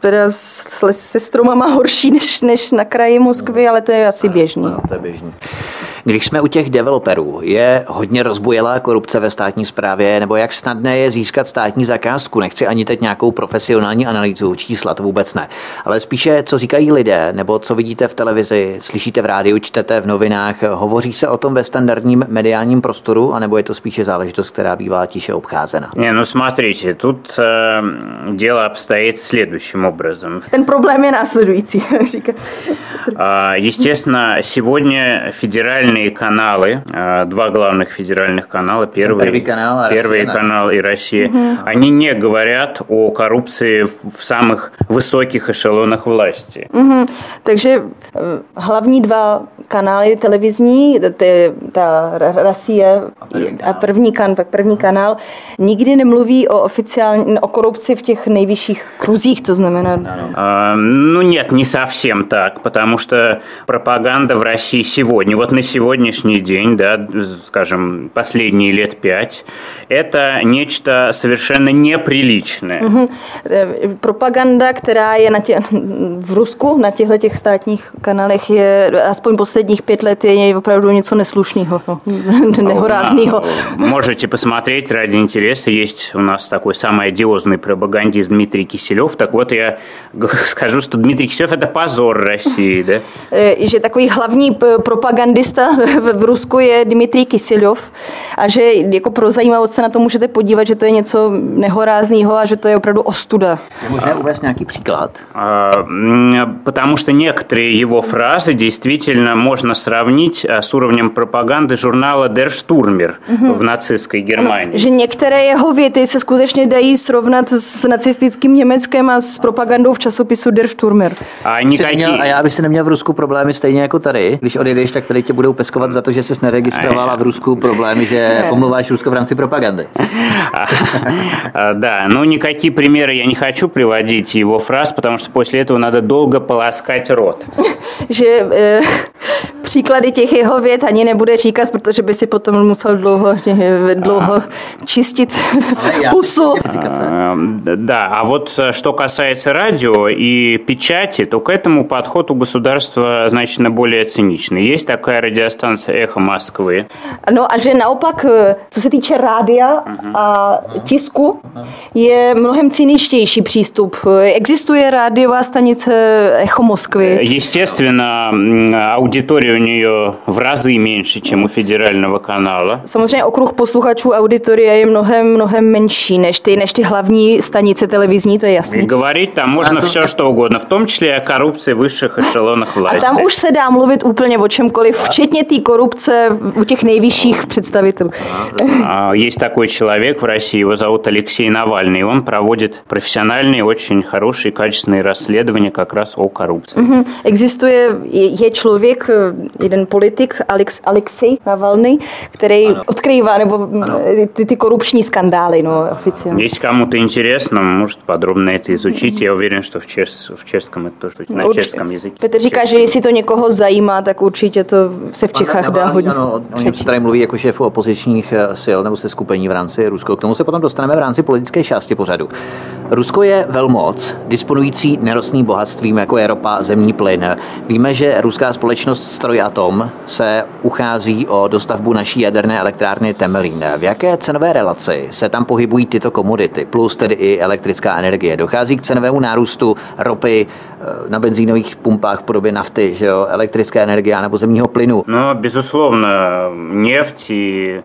se stromama horší než na kraji Moskvy, ale to je asi běžný. No, to je běžný. Když jsme u těch developerů, je hodně rozbujelá korupce ve státní správě, nebo jak snadné je získat státní zakázku? Nechci ani teď nějakou profesionální analýzu, čísla, to vůbec ne. Ale spíše, co říkají lidé, nebo co vidíte v televizi, slyšíte v rádiu, čtete v novinách, hovoří se o tom ve standardním mediálním prostoru, anebo je to spíše záležitost, která bývá tiše obcházena? Смотрите, тут дело обстоит следующим образом. Ten problém je následující. Естественно, сегодня федеральные каналы, два главных федеральных канала, Первый канал и Россия, они не говорят о коррупции в самых высоких эшелонах власти. Takže hlavní dva kanály televizní, ta Россия a první kanál, nikdy nemluví o korupci v těch nejvyšších kruzích, to znamená. Ну нет, не совсем так, потому что пропаганда в России сегодня, вот на сегодняшний день, да, скажем, последние лет 5, это нечто совершенно неприличное. Propaganda, která je v Rusku na těchto státních kanálech, je aspoň posledních 5 let je opravdu něco neslušného, nehorázného. Можете посмотреть ради интереса, есть у нас такой самый одиозный пропагандист Дмитрий Киселев, так вот я скажу, что Дмитрий Киселев это позор России, да? Že takový hlavní propagandista v Rusku je Dmitrij Kiselov a že jako pro zajímavost se na to můžete podívat, že to je něco nehorázného a že to je opravdu ostuda. Je možné uvést nějaký příklad? Потому что некоторые его фразы действительно можно сравнить с уровнем пропаганды журнала Der Stürmer v nacistické Germánii. Že některé jeho věty se skutečně dají srovnat s nacistickým Německem a s propagandou v časopisu Der Stürmer. A já bych si neměl v Rusku problémy stejně jako tady. Když odjedeš, tak tady tě budou peskovat za to, že jsi neregistrovala v Rusku problémy, že omlouváš Rusko v rámci propagandy. Да, но никакие примеры я не хочу приводить его фраз, потому что после этого надо долго полоскать рот. Že příklady těch jeho vět ani nebude říkat, protože by si potom musel dlouho čistit pusu. Да, а вот что касается радио и печати, то к этому подход у государства значительно более циничный. Есть такая радиостанция «Эхо Москвы». No a že naopak, co se týče rádia a tisku, je mnohem cyničtější přístup. Existuje rádiová stanice Echo Moskvy. Естественно, аудитория у нее в разы меньше, чем у федерального канала. Samozřejmě okruh posluchačů auditoria je mnohem menší než ty hlavní stanice televizní, to je jasný. Говорить там можно все, что угодно, в том числе о коррупции в высших эшелонах власти. A tam už se dá mluvit úplně o čemkoliv, včetně té korupce u těch nejvyšších představitelů. Есть такой человек в России, его зовут Алексей Навальный, он проводит профессиональные, очень хорошие, качественные расследования как раз о коррупции. Je člověk, jeden politik, Alexej Navalny, který odkrývá nebo ty korupční skandály, no, oficiálně. Если кому-то интересно, может подробно это изучить. Я уверен, что в чешском это тоже на чешском языке. Petr říká, že jestli to někoho zajímá, tak určitě to se v Čechách dá hodně. Ano, oni se tady mluví jako šéfu opozičních sil nebo seskupení v rámci Rusko. K tomu se potom dostaneme v rámci politické části pořadu. Rusko je velmoc, disponující nerostným bohatstvím, jako je ropa, zemní plyn. Víme, že ruská společnost Strojatom se uchází o dostavbu naší jaderné elektrárny Temelín. V jaké cenové relaci se tam pohybují tyto komodity, plus tedy i elektrická energie? Dochází k cenovému nárůstu ropy na benzínových pumpách v podobě nafty, že jo, elektrické energie nebo zemního plynu? No, безусловно, нефть и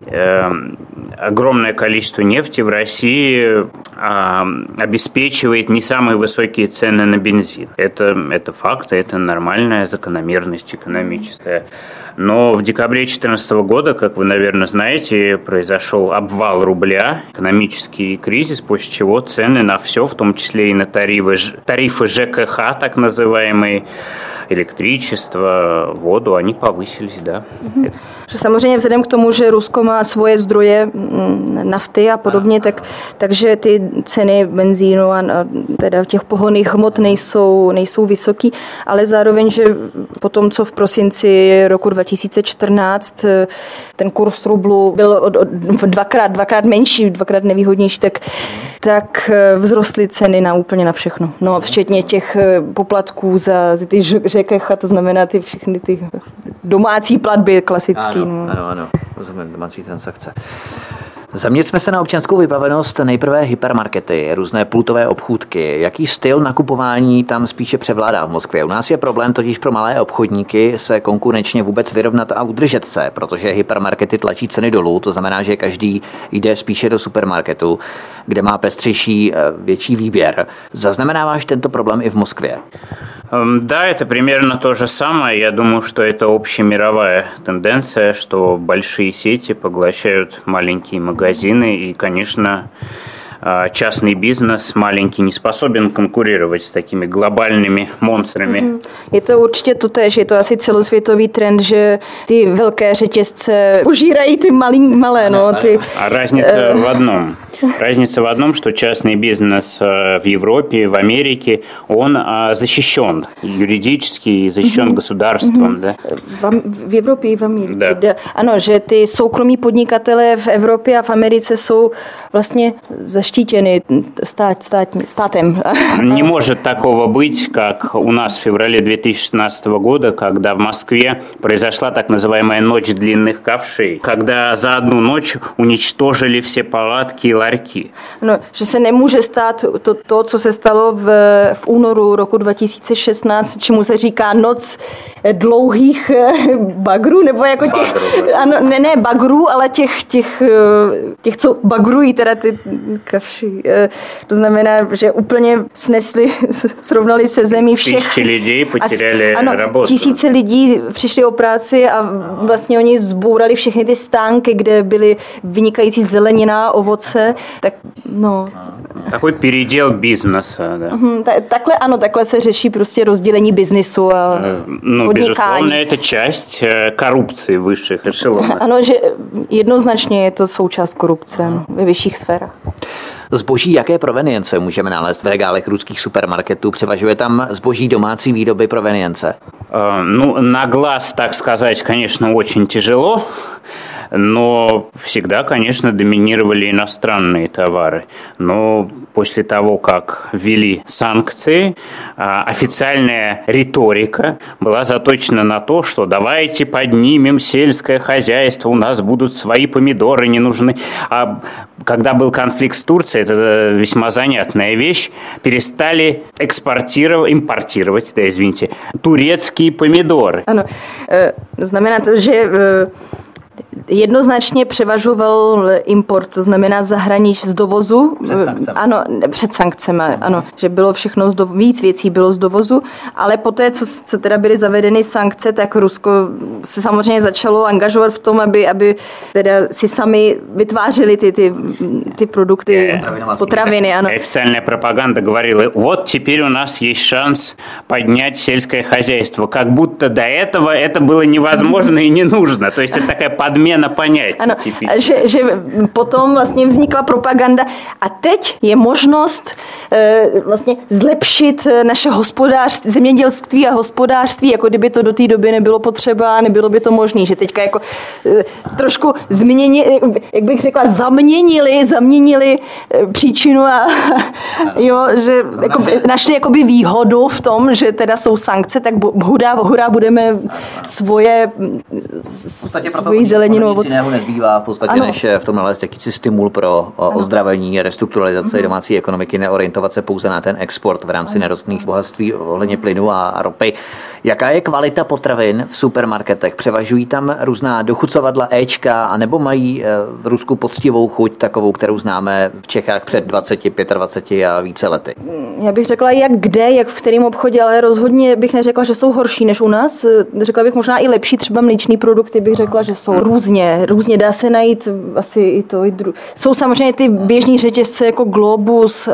огромное количество нефти в России обеспечивает не самые высокие цены на бензин. Это факт, это нормальная закономерность экономическая. Но в декабре 2014 года, как вы, наверное, знаете, произошел обвал рубля, экономический кризис, после чего цены на все, в том числе и на тарифы ЖКХ, так называемые, электричество, воду, они повысились, да. Samozřejmě vzhledem k tomu, že Rusko má svoje zdroje nafty a podobně, takže ty ceny benzínu a teda těch pohonných hmot nejsou vysoký, ale zároveň, že po tom, co v prosinci roku 2014 ten kurz rublu byl dvakrát menší, dvakrát nevýhodnější, tak vzrostly ceny úplně na všechno. No, včetně těch poplatků za ty ŽKH, to znamená ty všechny ty domácí platby klasické. Ano, rozumím, domácí transakce. Zaměřme se na občanskou vybavenost, nejprve hypermarkety, různé pultové obchůdky. Jaký styl nakupování tam spíše převládá v Moskvě? U nás je problém totiž pro malé obchodníky se konkurenčně vůbec vyrovnat a udržet se, protože hypermarkety tlačí ceny dolů, to znamená, že každý jde spíše do supermarketu, kde má pestřejší, větší výběr. Zaznamenáváš tento problém i v Moskvě? Да, это примерно то же самое. Я думаю, что это общемировая тенденция, что большие сети поглощают маленькие магазины. И, конечно, частный бизнес маленький не способен конкурировать с такими глобальными монстрами. Je to určitě totéž, je to asi celosvětový trend, že ty velké řetězce požírají ty malé. No, ty, а разница в одном, что частный бизнес в Европе, в Америке, он защищен юридически, защищен государством. Да? V Evropě i v Americe. Да. Ano, že ty soukromí podnikatelé v Evropě a v Americe jsou vlastně zaštítěny státem. Не может такого быть, как у нас в феврале 2016 года, когда в Москве произошла так называемая ночь длинных ковшей, когда за одну ночь уничтожили все палатки и ларьки. No, že se nemůže stát to, co se stalo v únoru roku 2016, čemu se říká noc dlouhých bagrů, nebo jako těch, ano, ne bagrů, ale těch, co bagrují teda ty kavši. To znamená, že úplně srovnali se zemí všech. Tisíce lidí potěrali работу. Tisíce lidí přišli o práci a vlastně oni zbourali všechny ty stánky, kde byly vynikající zelenina, ovoce, tak no. Takový передел бизнеса, да. Takhle se řeší prostě rozdělení biznisu a podnikání. Безусловно, это часть коррупции высших эшелонов. Ano, že jednoznačně je to součást korupce ve vyšších sférách. Zboží jaké provenience můžeme nalézt v regálech ruských supermarketů? Převažuje tam zboží domácí výroby provenience? Ну, на глаз, так сказать, конечно, очень тяжело. Но всегда, конечно, доминировали иностранные товары. Но после того, как ввели санкции, официальная риторика была заточена на то, что давайте поднимем сельское хозяйство, у нас будут свои помидоры, не нужны. А когда был конфликт с Турцией, это весьма занятная вещь, перестали импортировать, турецкие помидоры. Ano, znamená to, že jednoznačně převažoval import, to znamená z dovozu. Ano, před sankcemi, ano, že bylo všechno, víc věcí bylo z dovozu, ale poté, co teda byly zavedeny sankce, tak Rusko se samozřejmě začalo angažovat v tom, aby teda si sami vytvářeli ty produkty, potraviny. Ano. Официальная пропаганда говорила, вот теперь у нас есть шанс поднять сельское хозяйство. Как будто до этого это было невозможно и не нужно. То есть это такая подмена понятий. Ano, že potom vlastně vznikla propaganda a teď je možnost vlastně zlepšit naše hospodářství, zemědělství a hospodářství, jako kdyby to do té doby nebylo potřeba, nebylo by to možné, že teďka jako trošku změnili, jak bych řekla, zaměnili příčinu a jo, že jako, našli jakoby výhodu v tom, že teda jsou sankce, tak hurá budeme svoji zeleninu. Nic jiného nezbývá v podstatě, než v tom nalézt jakýsi stimul pro ozdravení, restrukturalizaci domácí ekonomiky, neorientovat se pouze na ten export v rámci nerostných bohatství ohledně plynu a ropy. Jaká je kvalita potravin v supermarketech? Převažují tam různá dochucovadla Ečka, anebo mají v Rusku poctivou chuť, takovou, kterou známe v Čechách před 20, 25 a více lety? Já bych řekla, jak v kterém obchodě, ale rozhodně bych neřekla, že jsou horší než u nás. Řekla bych možná i lepší, třeba mléčný produkty bych řekla, že jsou různě dá se najít asi i to. Jsou samozřejmě ty běžný řetězce jako Globus.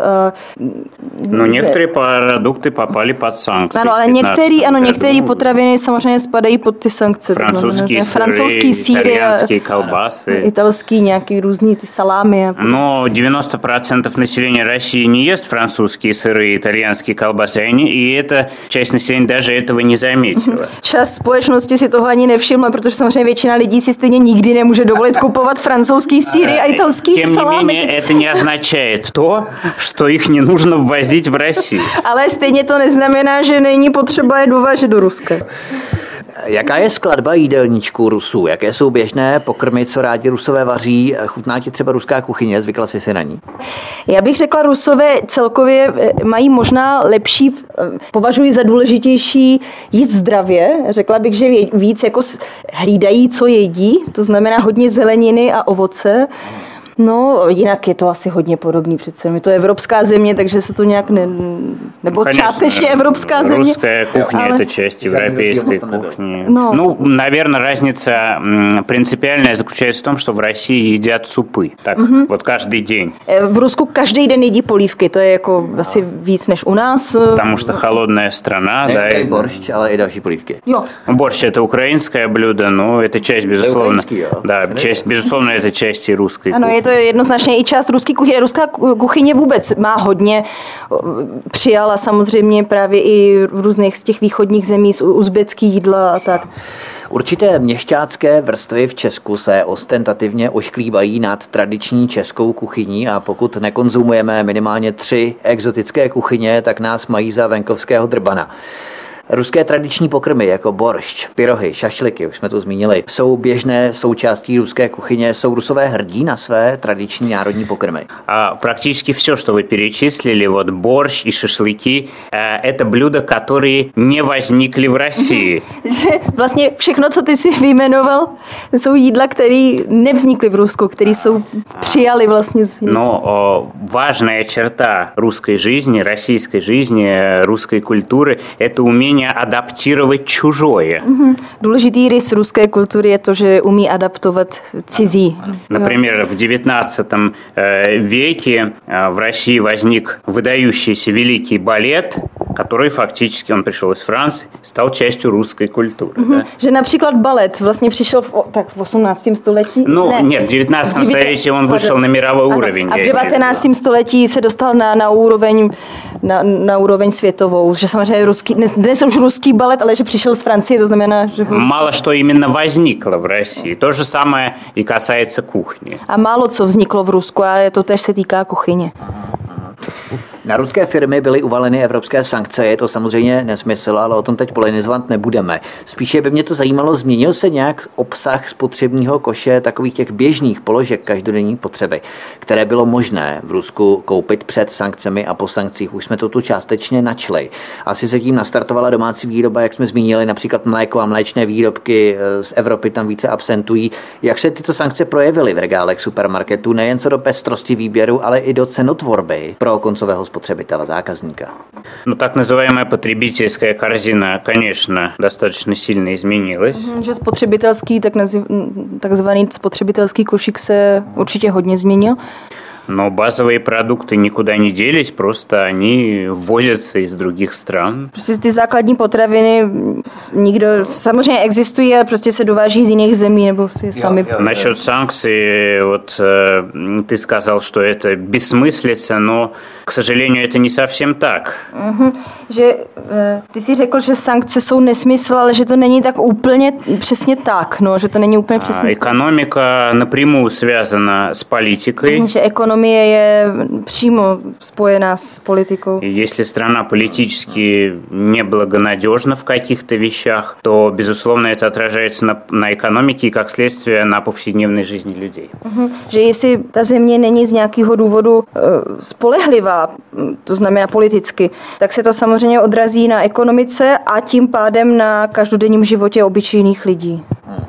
No některé produkty popali pod sankce. Ano, ale některé potraviny samozřejmě spadají pod ty sankce. Francouzský síry, итальянские колбасы. Italský nějaký různý ty salámy. Но 90% населения России не ест французские сыры, итальянские колбасы, и эта часть населения даже этого не заметила. Část společnosti si toho ani nevšimla, protože samozřejmě většina lidí si stejně nikdy nemůže dovolit kupovat francouzský síry a italský salámy. Тем не менее, это не означает то, что их не нужно ввозить в Россию. Ale stejně to neznamená, že není potřeba je dovážet do Ruska. Jaká je skladba jídelníčků Rusů? Jaké jsou běžné pokrmy, co rádi Rusové vaří? Chutná ti třeba ruská kuchyně? Zvykla jsi si na ní? Já bych řekla, Rusové celkově mají možná lepší, považuji za důležitější jíst zdravě. Řekla bych, že víc jako hlídají, co jedí. To znamená hodně zeleniny a ovoce. No, jinak je to asi hodně podobný přece. Je to evropská země, takže se to nějak nebo Конечно, částečně evropská země. Русская кухня – это часть европейской кухни. Ну, наверное, разница принципиальная заключается в том, что в России едят супы. Так, вот каждый день. V Rusku každý den jedí polívky, to je jako asi víc než u nás. Потому что холодная страна, да. I борщ, ale i další polívky. Jo. Борщ – это украинское блюдо, но это часть, безусловно. Да, часть, безусловно, это часть и русской Ano, кухни. je to jednoznačně i část ruské kuchyně. Ruská kuchyně vůbec má hodně. Přijala samozřejmě právě i v různých z těch východních zemí, uzbecký jídla a tak. Určité měšťácké vrstvy v Česku se ostentativně ošklívají nad tradiční českou kuchyní a pokud nekonzumujeme minimálně 3 exotické kuchyně, tak nás mají za venkovského drbana. Ruské tradiční pokrmy jako boršč, pyrohy, šašliky, už jsme to zmínili, jsou běžné součástí ruské kuchyně. Jsou Rusové hrdí na své tradiční národní pokrmy? А практически все, что вы перечислили, вот борщ и шашлыки, это блюда, которые не возникли в России. Že vlastně všechno, co ty si vyjmenoval, jsou jídla, které nevznikly v Rusku, které jsou přijali vlastně. Но важная черта русской жизни, российской жизни, русской культуры – это умение адаптировать чужое. Důležitý rys ruské kultury je to, že umí adaptovat cizí. Например, в XIX веке в России возник выдающийся великий балет, который фактически, он пришел из Франции, стал частью русской культуры. Да? Že například balet vlastně přišel v 18. století? Ну, нет, в 19 столетии он вышел на мировой уровень. A v 19. století se dostal na úroveň světovou, že samozřejmě dnes už ruský balet, ale že přišel z Francie, to znamená, že... Мало что именно возникло в России. То же самое и касается кухни. A málo co vzniklo v Rusku a to též se týká kuchyně. Na ruské firmy byly uvaleny evropské sankce, je to samozřejmě nesmysl, ale o tom teď polemizovat nebudeme. Spíše by mě to zajímalo, změnil se nějak obsah spotřebního koše takových těch běžných položek každodenní potřeby, které bylo možné v Rusku koupit před sankcemi a po sankcích. Už jsme to tu částečně načli. Asi se tím nastartovala domácí výroba, jak jsme zmínili, například mléko a mléčné výrobky z Evropy tam více absentují. Jak se tyto sankce projevily v regálech supermarketů, nejen co do pestrosti výběru, ale i do cenotvorby pro koncového spotřebitele, zákazníka? Ну, так называемая потребительская корзина, конечно, достаточно сильно изменилась. Že takzvaný spotřebitelský košík se určitě hodně změnil. Но базовые продукты никуда не делись, просто они ввозятся из других стран. Prostě ty základní potraviny nikdo samozřejmě existují, ale prostě se dováží z jiných zemí nebo si sami. Насчет санкций, вот ты сказал, что это бессмыслица, но, к сожалению, это не совсем так. Že ty si řekl, že sankce jsou nesmysl, ale že to není tak úplně přesně tak, no, že to není úplně přesně. Экономика напрямую связана с политикой. Že ekonomie je přímo spojená s politikou. Если страна политически неблагонадежна в каких-то вещах, то, безусловно, это отражается на экономике и, как следствие, на повседневной жизни людей. Že jestli ta země není z nějakého důvodu spolehlivá, to znamená politicky, tak se to samozřejmě odrazí na ekonomice a tím pádem na každodenním životě obyčejných lidí.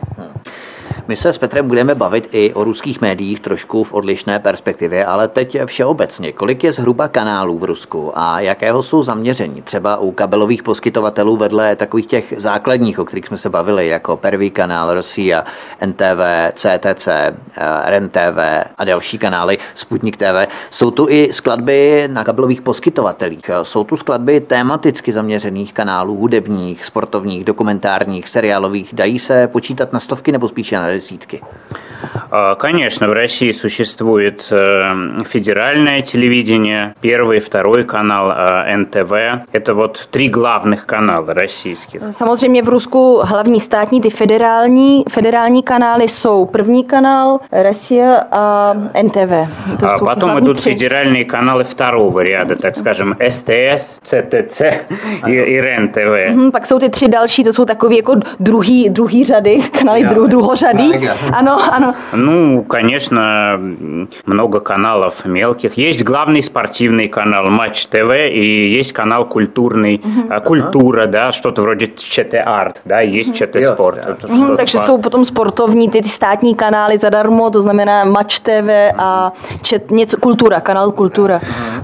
My se s Petrem budeme bavit i o ruských médiích trošku v odlišné perspektivě, ale teď všeobecně. Kolik je zhruba kanálů v Rusku a jakého jsou zaměření? Třeba u kabelových poskytovatelů vedle takových těch základních, o kterých jsme se bavili, jako Prvý kanál, Rosia, NTV, CTC, REN-TV a další kanály, Sputnik TV. Jsou tu i skladby na kabelových poskytovatelích. Jsou tu skladby tematicky zaměřených kanálů, hudebních, sportovních, dokumentárních, seriálových. Dají se počítat na stovky nebo spíše na desítky? Конечно, в России существует федеральное телевидение, первый, второй канал, НТВ. Это вот три главных канала российских. Samozřejmě v Rusku hlavní státní, ty federální kanály jsou První kanál, Rosia a NTV. А потом идут федеральные каналы второго ряда, так скажем, СТС, ЦТЦ и РЕН-ТВ. Pak jsou ty tři další, to jsou takový jako druhý řady, kanály druhořady. Ano. Ну, конечно, много каналов мелких. Есть главный спортивный канал Матч ТВ и есть канал культурный, Культура, да, что-то вроде ЧТ Арт, да, есть ЧТ Спорт. Takže jsou potom sportovní, ty státní kanály zadarmo, to znamená Match TV a Kultura, канал Kultura.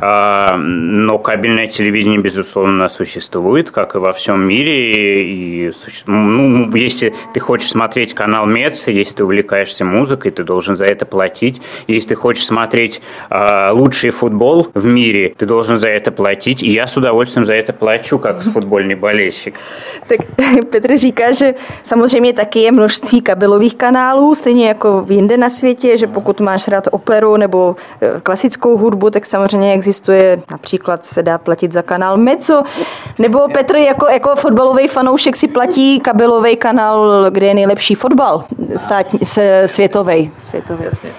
Но кабельное телевидение, безусловно, существует, как и во всем мире. И, ну, если ты хочешь смотреть канал МЕЦ, если ты увлекаешься музыкой, ты должен за это платить. Если ты хочешь смотреть лучший футбол в мире, ты должен за это платить. И я с удовольствием за это плачу, как футбольный болельщик. Tak Petr říká, že samozřejmě taky je množství kabelových kanálů, stejně jako jinde na světě, že pokud máš rád operu nebo klasickou hudbu, tak samozřejmě existuje, například se dá platit za kanál Mezzo, nebo Petr jako fotbalový fanoušek si platí kabelový kanál, kde je nejlepší fotbal světový. Jasně.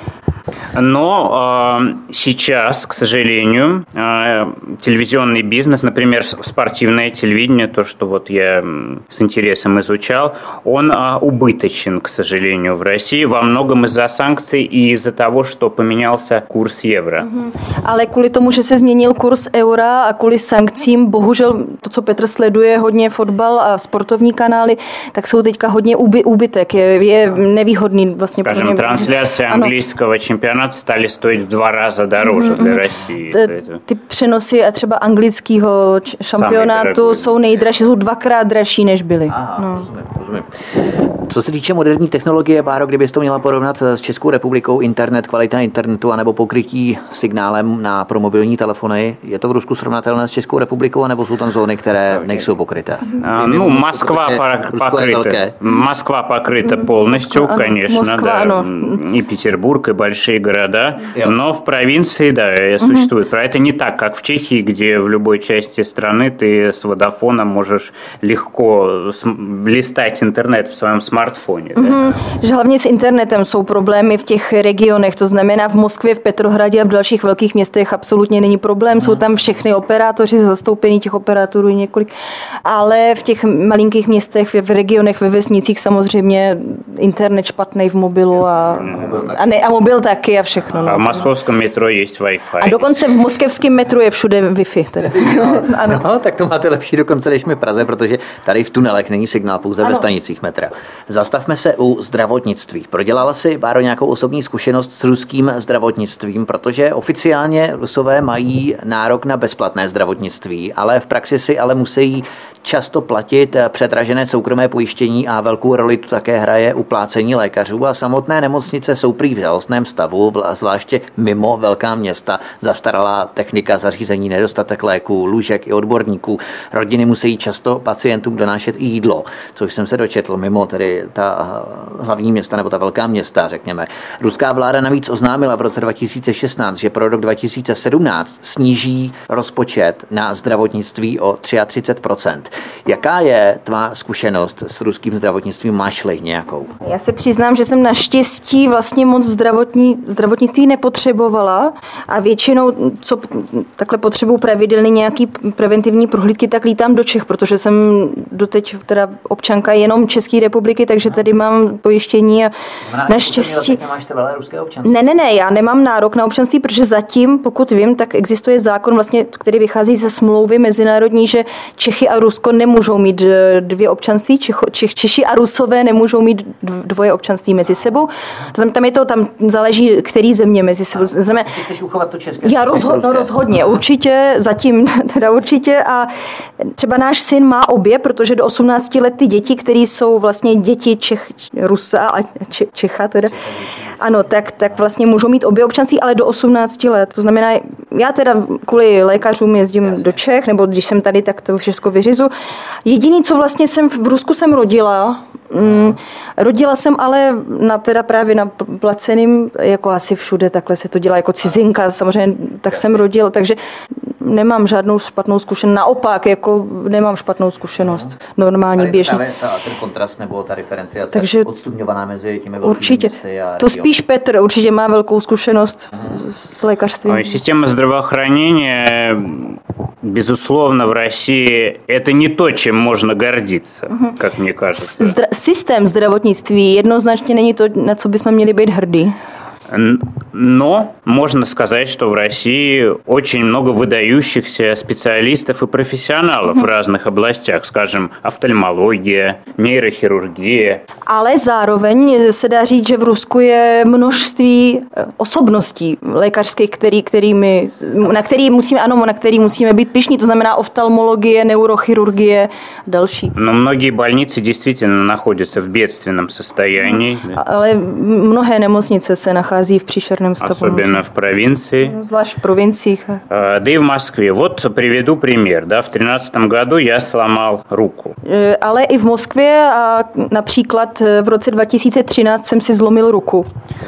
Но сейчас, к сожалению, телевизионный бизнес, например, спортивное телевидение, то, что вот я с интересом изучал, он убыточен, к сожалению, в России во многом из-за санкций и из-за того, что поменялся курс евро. Ale kvůli tomu, že se změnil kurz eura a kvůli sankcím, bohužel to, co Petr sleduje, hodně fotbal a sportovní kanály, tak jsou teďka hodně úbytek. Je nevýhodný vlastně. Скажем, трансляция английского čempionátu стали стоить в 2 раза дороже для России. Ty přenosy a třeba anglického šampionátu jsou nejdražší, jsou 2krát dražší, než byly. Aha, rozumím. Co se týče moderní technologie, Báro, kdybyste to měla porovnat s Českou republikou, internet, kvalita internetu anebo pokrytí signálem pro mobilní telefony, je to v Rusku srovnatelné s Českou republikou, anebo jsou tam zóny, které nejsou pokryté? Ну, Москва покрыта полностью, конечно, да. И Петербург, и большие города, но в провинции, да, существует. Про это не так, как в Чехии, где в любой части страны ты с водофона можешь легко листать интернет в своем смартфоně. Že hlavně s internetem jsou problémy v těch regionech, to znamená v Moskvě, v Petrohradě a v dalších velkých městech absolutně není problém, jsou tam všechny operátoři, zastoupení těch operátorů několik, ale v těch malinkých městech, v regionech, ve vesnicích samozřejmě internet špatný v mobilu a mobil taky a všechno. A v moskovském metro je Wi-Fi. A dokonce v moskevském metru je všude Wi-Fi. Teda. Ano. No, tak to máte lepší dokonce než my v Praze, protože tady v tunelech není signál, pouze ve stanicích metra. Zastavme se u zdravotnictví. Prodělala si, Báro, nějakou osobní zkušenost s ruským zdravotnictvím, protože oficiálně Rusové mají nárok na bezplatné zdravotnictví, ale v praxi si ale musí často platit předražené soukromé pojištění a velkou roli tu také hraje uplácení lékařů a samotné nemocnice jsou prý v žalostném stavu, zvláště mimo velká města, zastaralá technika, zařízení, nedostatek léků, lůžek i odborníků. Rodiny musí často pacientům donášet i jídlo, což jsem se dočetl mimo tedy ta hlavní města nebo ta velká města, řekněme. Ruská vláda navíc oznámila v roce 2016, že pro rok 2017 sníží rozpočet na zdravotnictví o 33%. Jaká je tvá zkušenost s ruským zdravotnictvím? Máš-li nějakou? Já se přiznám, že jsem naštěstí vlastně moc zdravotnictví nepotřebovala a většinou, co takhle potřebuju pravidelně nějaký preventivní prohlídky, tak lítám do Čech, protože jsem doteď teda občanka jenom České republiky, takže tady mám pojištění a naštěstí... Nemáš trvalé ruské občanství? Ne, já nemám nárok na občanství, protože zatím, pokud vím, tak existuje zákon, vlastně, který vychází ze smlouvy mezinárodní, že Čechy a Rusko nemůžou mít dvě občanství, Češi a Rusové nemůžou mít dvoje občanství mezi sebou. Tam záleží, který země mezi sebou. Ty chceš uchovat to české? Já rozhodně, určitě, zatím teda určitě a třeba náš syn má obě, protože do 18 let ty děti, které jsou vlastně děti Rusa a Čecha teda, ano, tak vlastně můžou mít obě občanství, ale do 18 let. To znamená, já teda kvůli lékařům jezdím do Čech, nebo když jsem tady, tak to všechno vyřizu. Jediný, co vlastně v Rusku jsem rodila, rodila jsem ale právě na placeným, jako asi všude, takhle se to dělá jako cizinka, samozřejmě tak jsem rodila, takže nemám žádnou špatnou zkušenost, naopak, jako nemám špatnou zkušenost, normální, běžný. Ten kontrast nebo ta diferenciace takže odstupňovaná mezi těmi velkými městy a to spíš Petr určitě má velkou zkušenost s lékařstvím. Система здравоохранения, безусловно, в России это не то, чем можно гордиться, как мне кажется. Systém zdravotnictví jednoznačně není to, na co bychom měli být hrdí. Но можно сказать, что в России очень много выдающихся специалистов и профессионалов в разных областях, скажем, офтальмология, нейрохирургия. Ale zároveň se dá říct, že v Rusku je množství osobností lékařských, na který musíme být pyšní, to znamená oftalmologie, neurochirurgie a další. Но многие больницы действительно находятся в бедственном состоянии. Ale mnohé nemocnice se nachází v příšerném stavu. Особенно в провинции. Zvlášť v provinciích. Да и в Москве. Вот приведу пример. Да, в 2013 году я сломал руку. Ale i v Moskvě a například v roce 2013 jsem si zlomil ruku.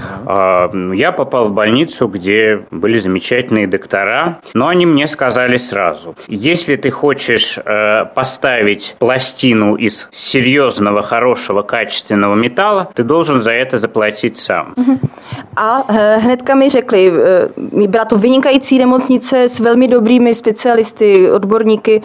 Я попал в больницу, где были замечательные доктора, но они мне сказали сразу: если ты хочешь поставить пластину из серьезного, хорошего, качественного металла, ты должен за это заплатить сам. A hnedka mi řekli, byla to vynikající nemocnice s velmi dobrými specialisty, odborníky,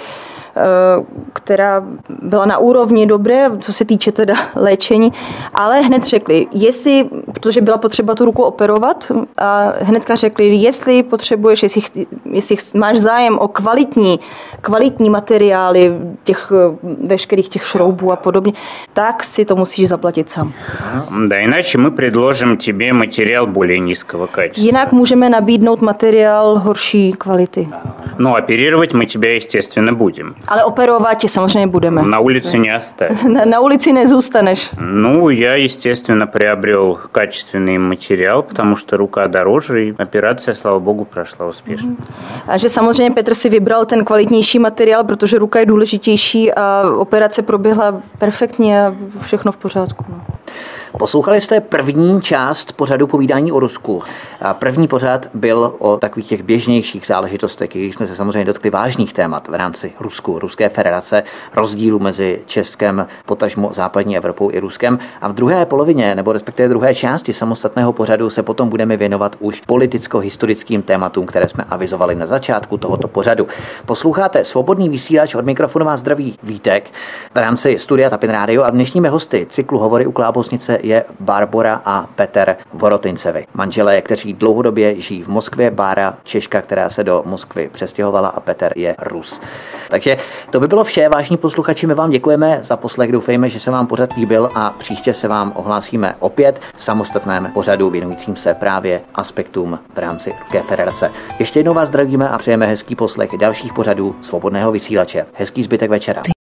která byla na úrovni dobré, co se týče teda léčení, ale hned řekli, protože byla potřeba tu ruku operovat, a hnedka řekli, jestli potřebuješ, jestli máš zájem o kvalitní materiály, veškerých těch šroubů a podobně, tak si to musíš zaplatit sám. Да, иначе мы предложим тебе материал более низкого качества. Jinak můžeme nabídnout materiál horší kvality. Но оперировать мы тебя, естественно, будем. Ale operovat tě samozřejmě budeme. На улице не оставим. Na ulici nezůstaneš. Ну, я, естественно, приобрел качественный материал, потому что рука дороже, и операция, слава богу, прошла успешно. A že samozřejmě Petr si vybral ten kvalitnější materiál, protože ruka je důležitější a operace proběhla perfektně a všechno v pořádku. Poslouchali jste první část pořadu Povídání o Rusku. A první pořad byl o takových těch běžnějších záležitostech, když jsme se samozřejmě dotkli vážných témat v rámci Ruské federace, rozdílu mezi Českem, potažmo západní Evropou i Ruskem. A v druhé polovině, nebo respektive druhé části samostatného pořadu se potom budeme věnovat už politicko-historickým tématům, které jsme avizovali na začátku tohoto pořadu. Posloucháte Svobodný vysílač, od mikrofonu vás zdraví Vítek v rámci studia Tapin Radio a dnešními hosty cyklu Hovory u Klábosnice manželce je Barbora a Petr Vorotincevi. Manželé, kteří dlouhodobě žijí v Moskvě, Bára Češka, která se do Moskvy přestěhovala, a Petr je Rus. Takže to by bylo vše, vážní posluchači, my vám děkujeme za poslech, doufejme, že se vám pořad líbil a příště se vám ohlásíme opět v samostatném pořadu věnujícím se právě aspektům v rámci Ruské federace. Ještě jednou vás zdravíme a přejeme hezký poslech dalších pořadů Svobodného vysílače. Hezký zbytek večera.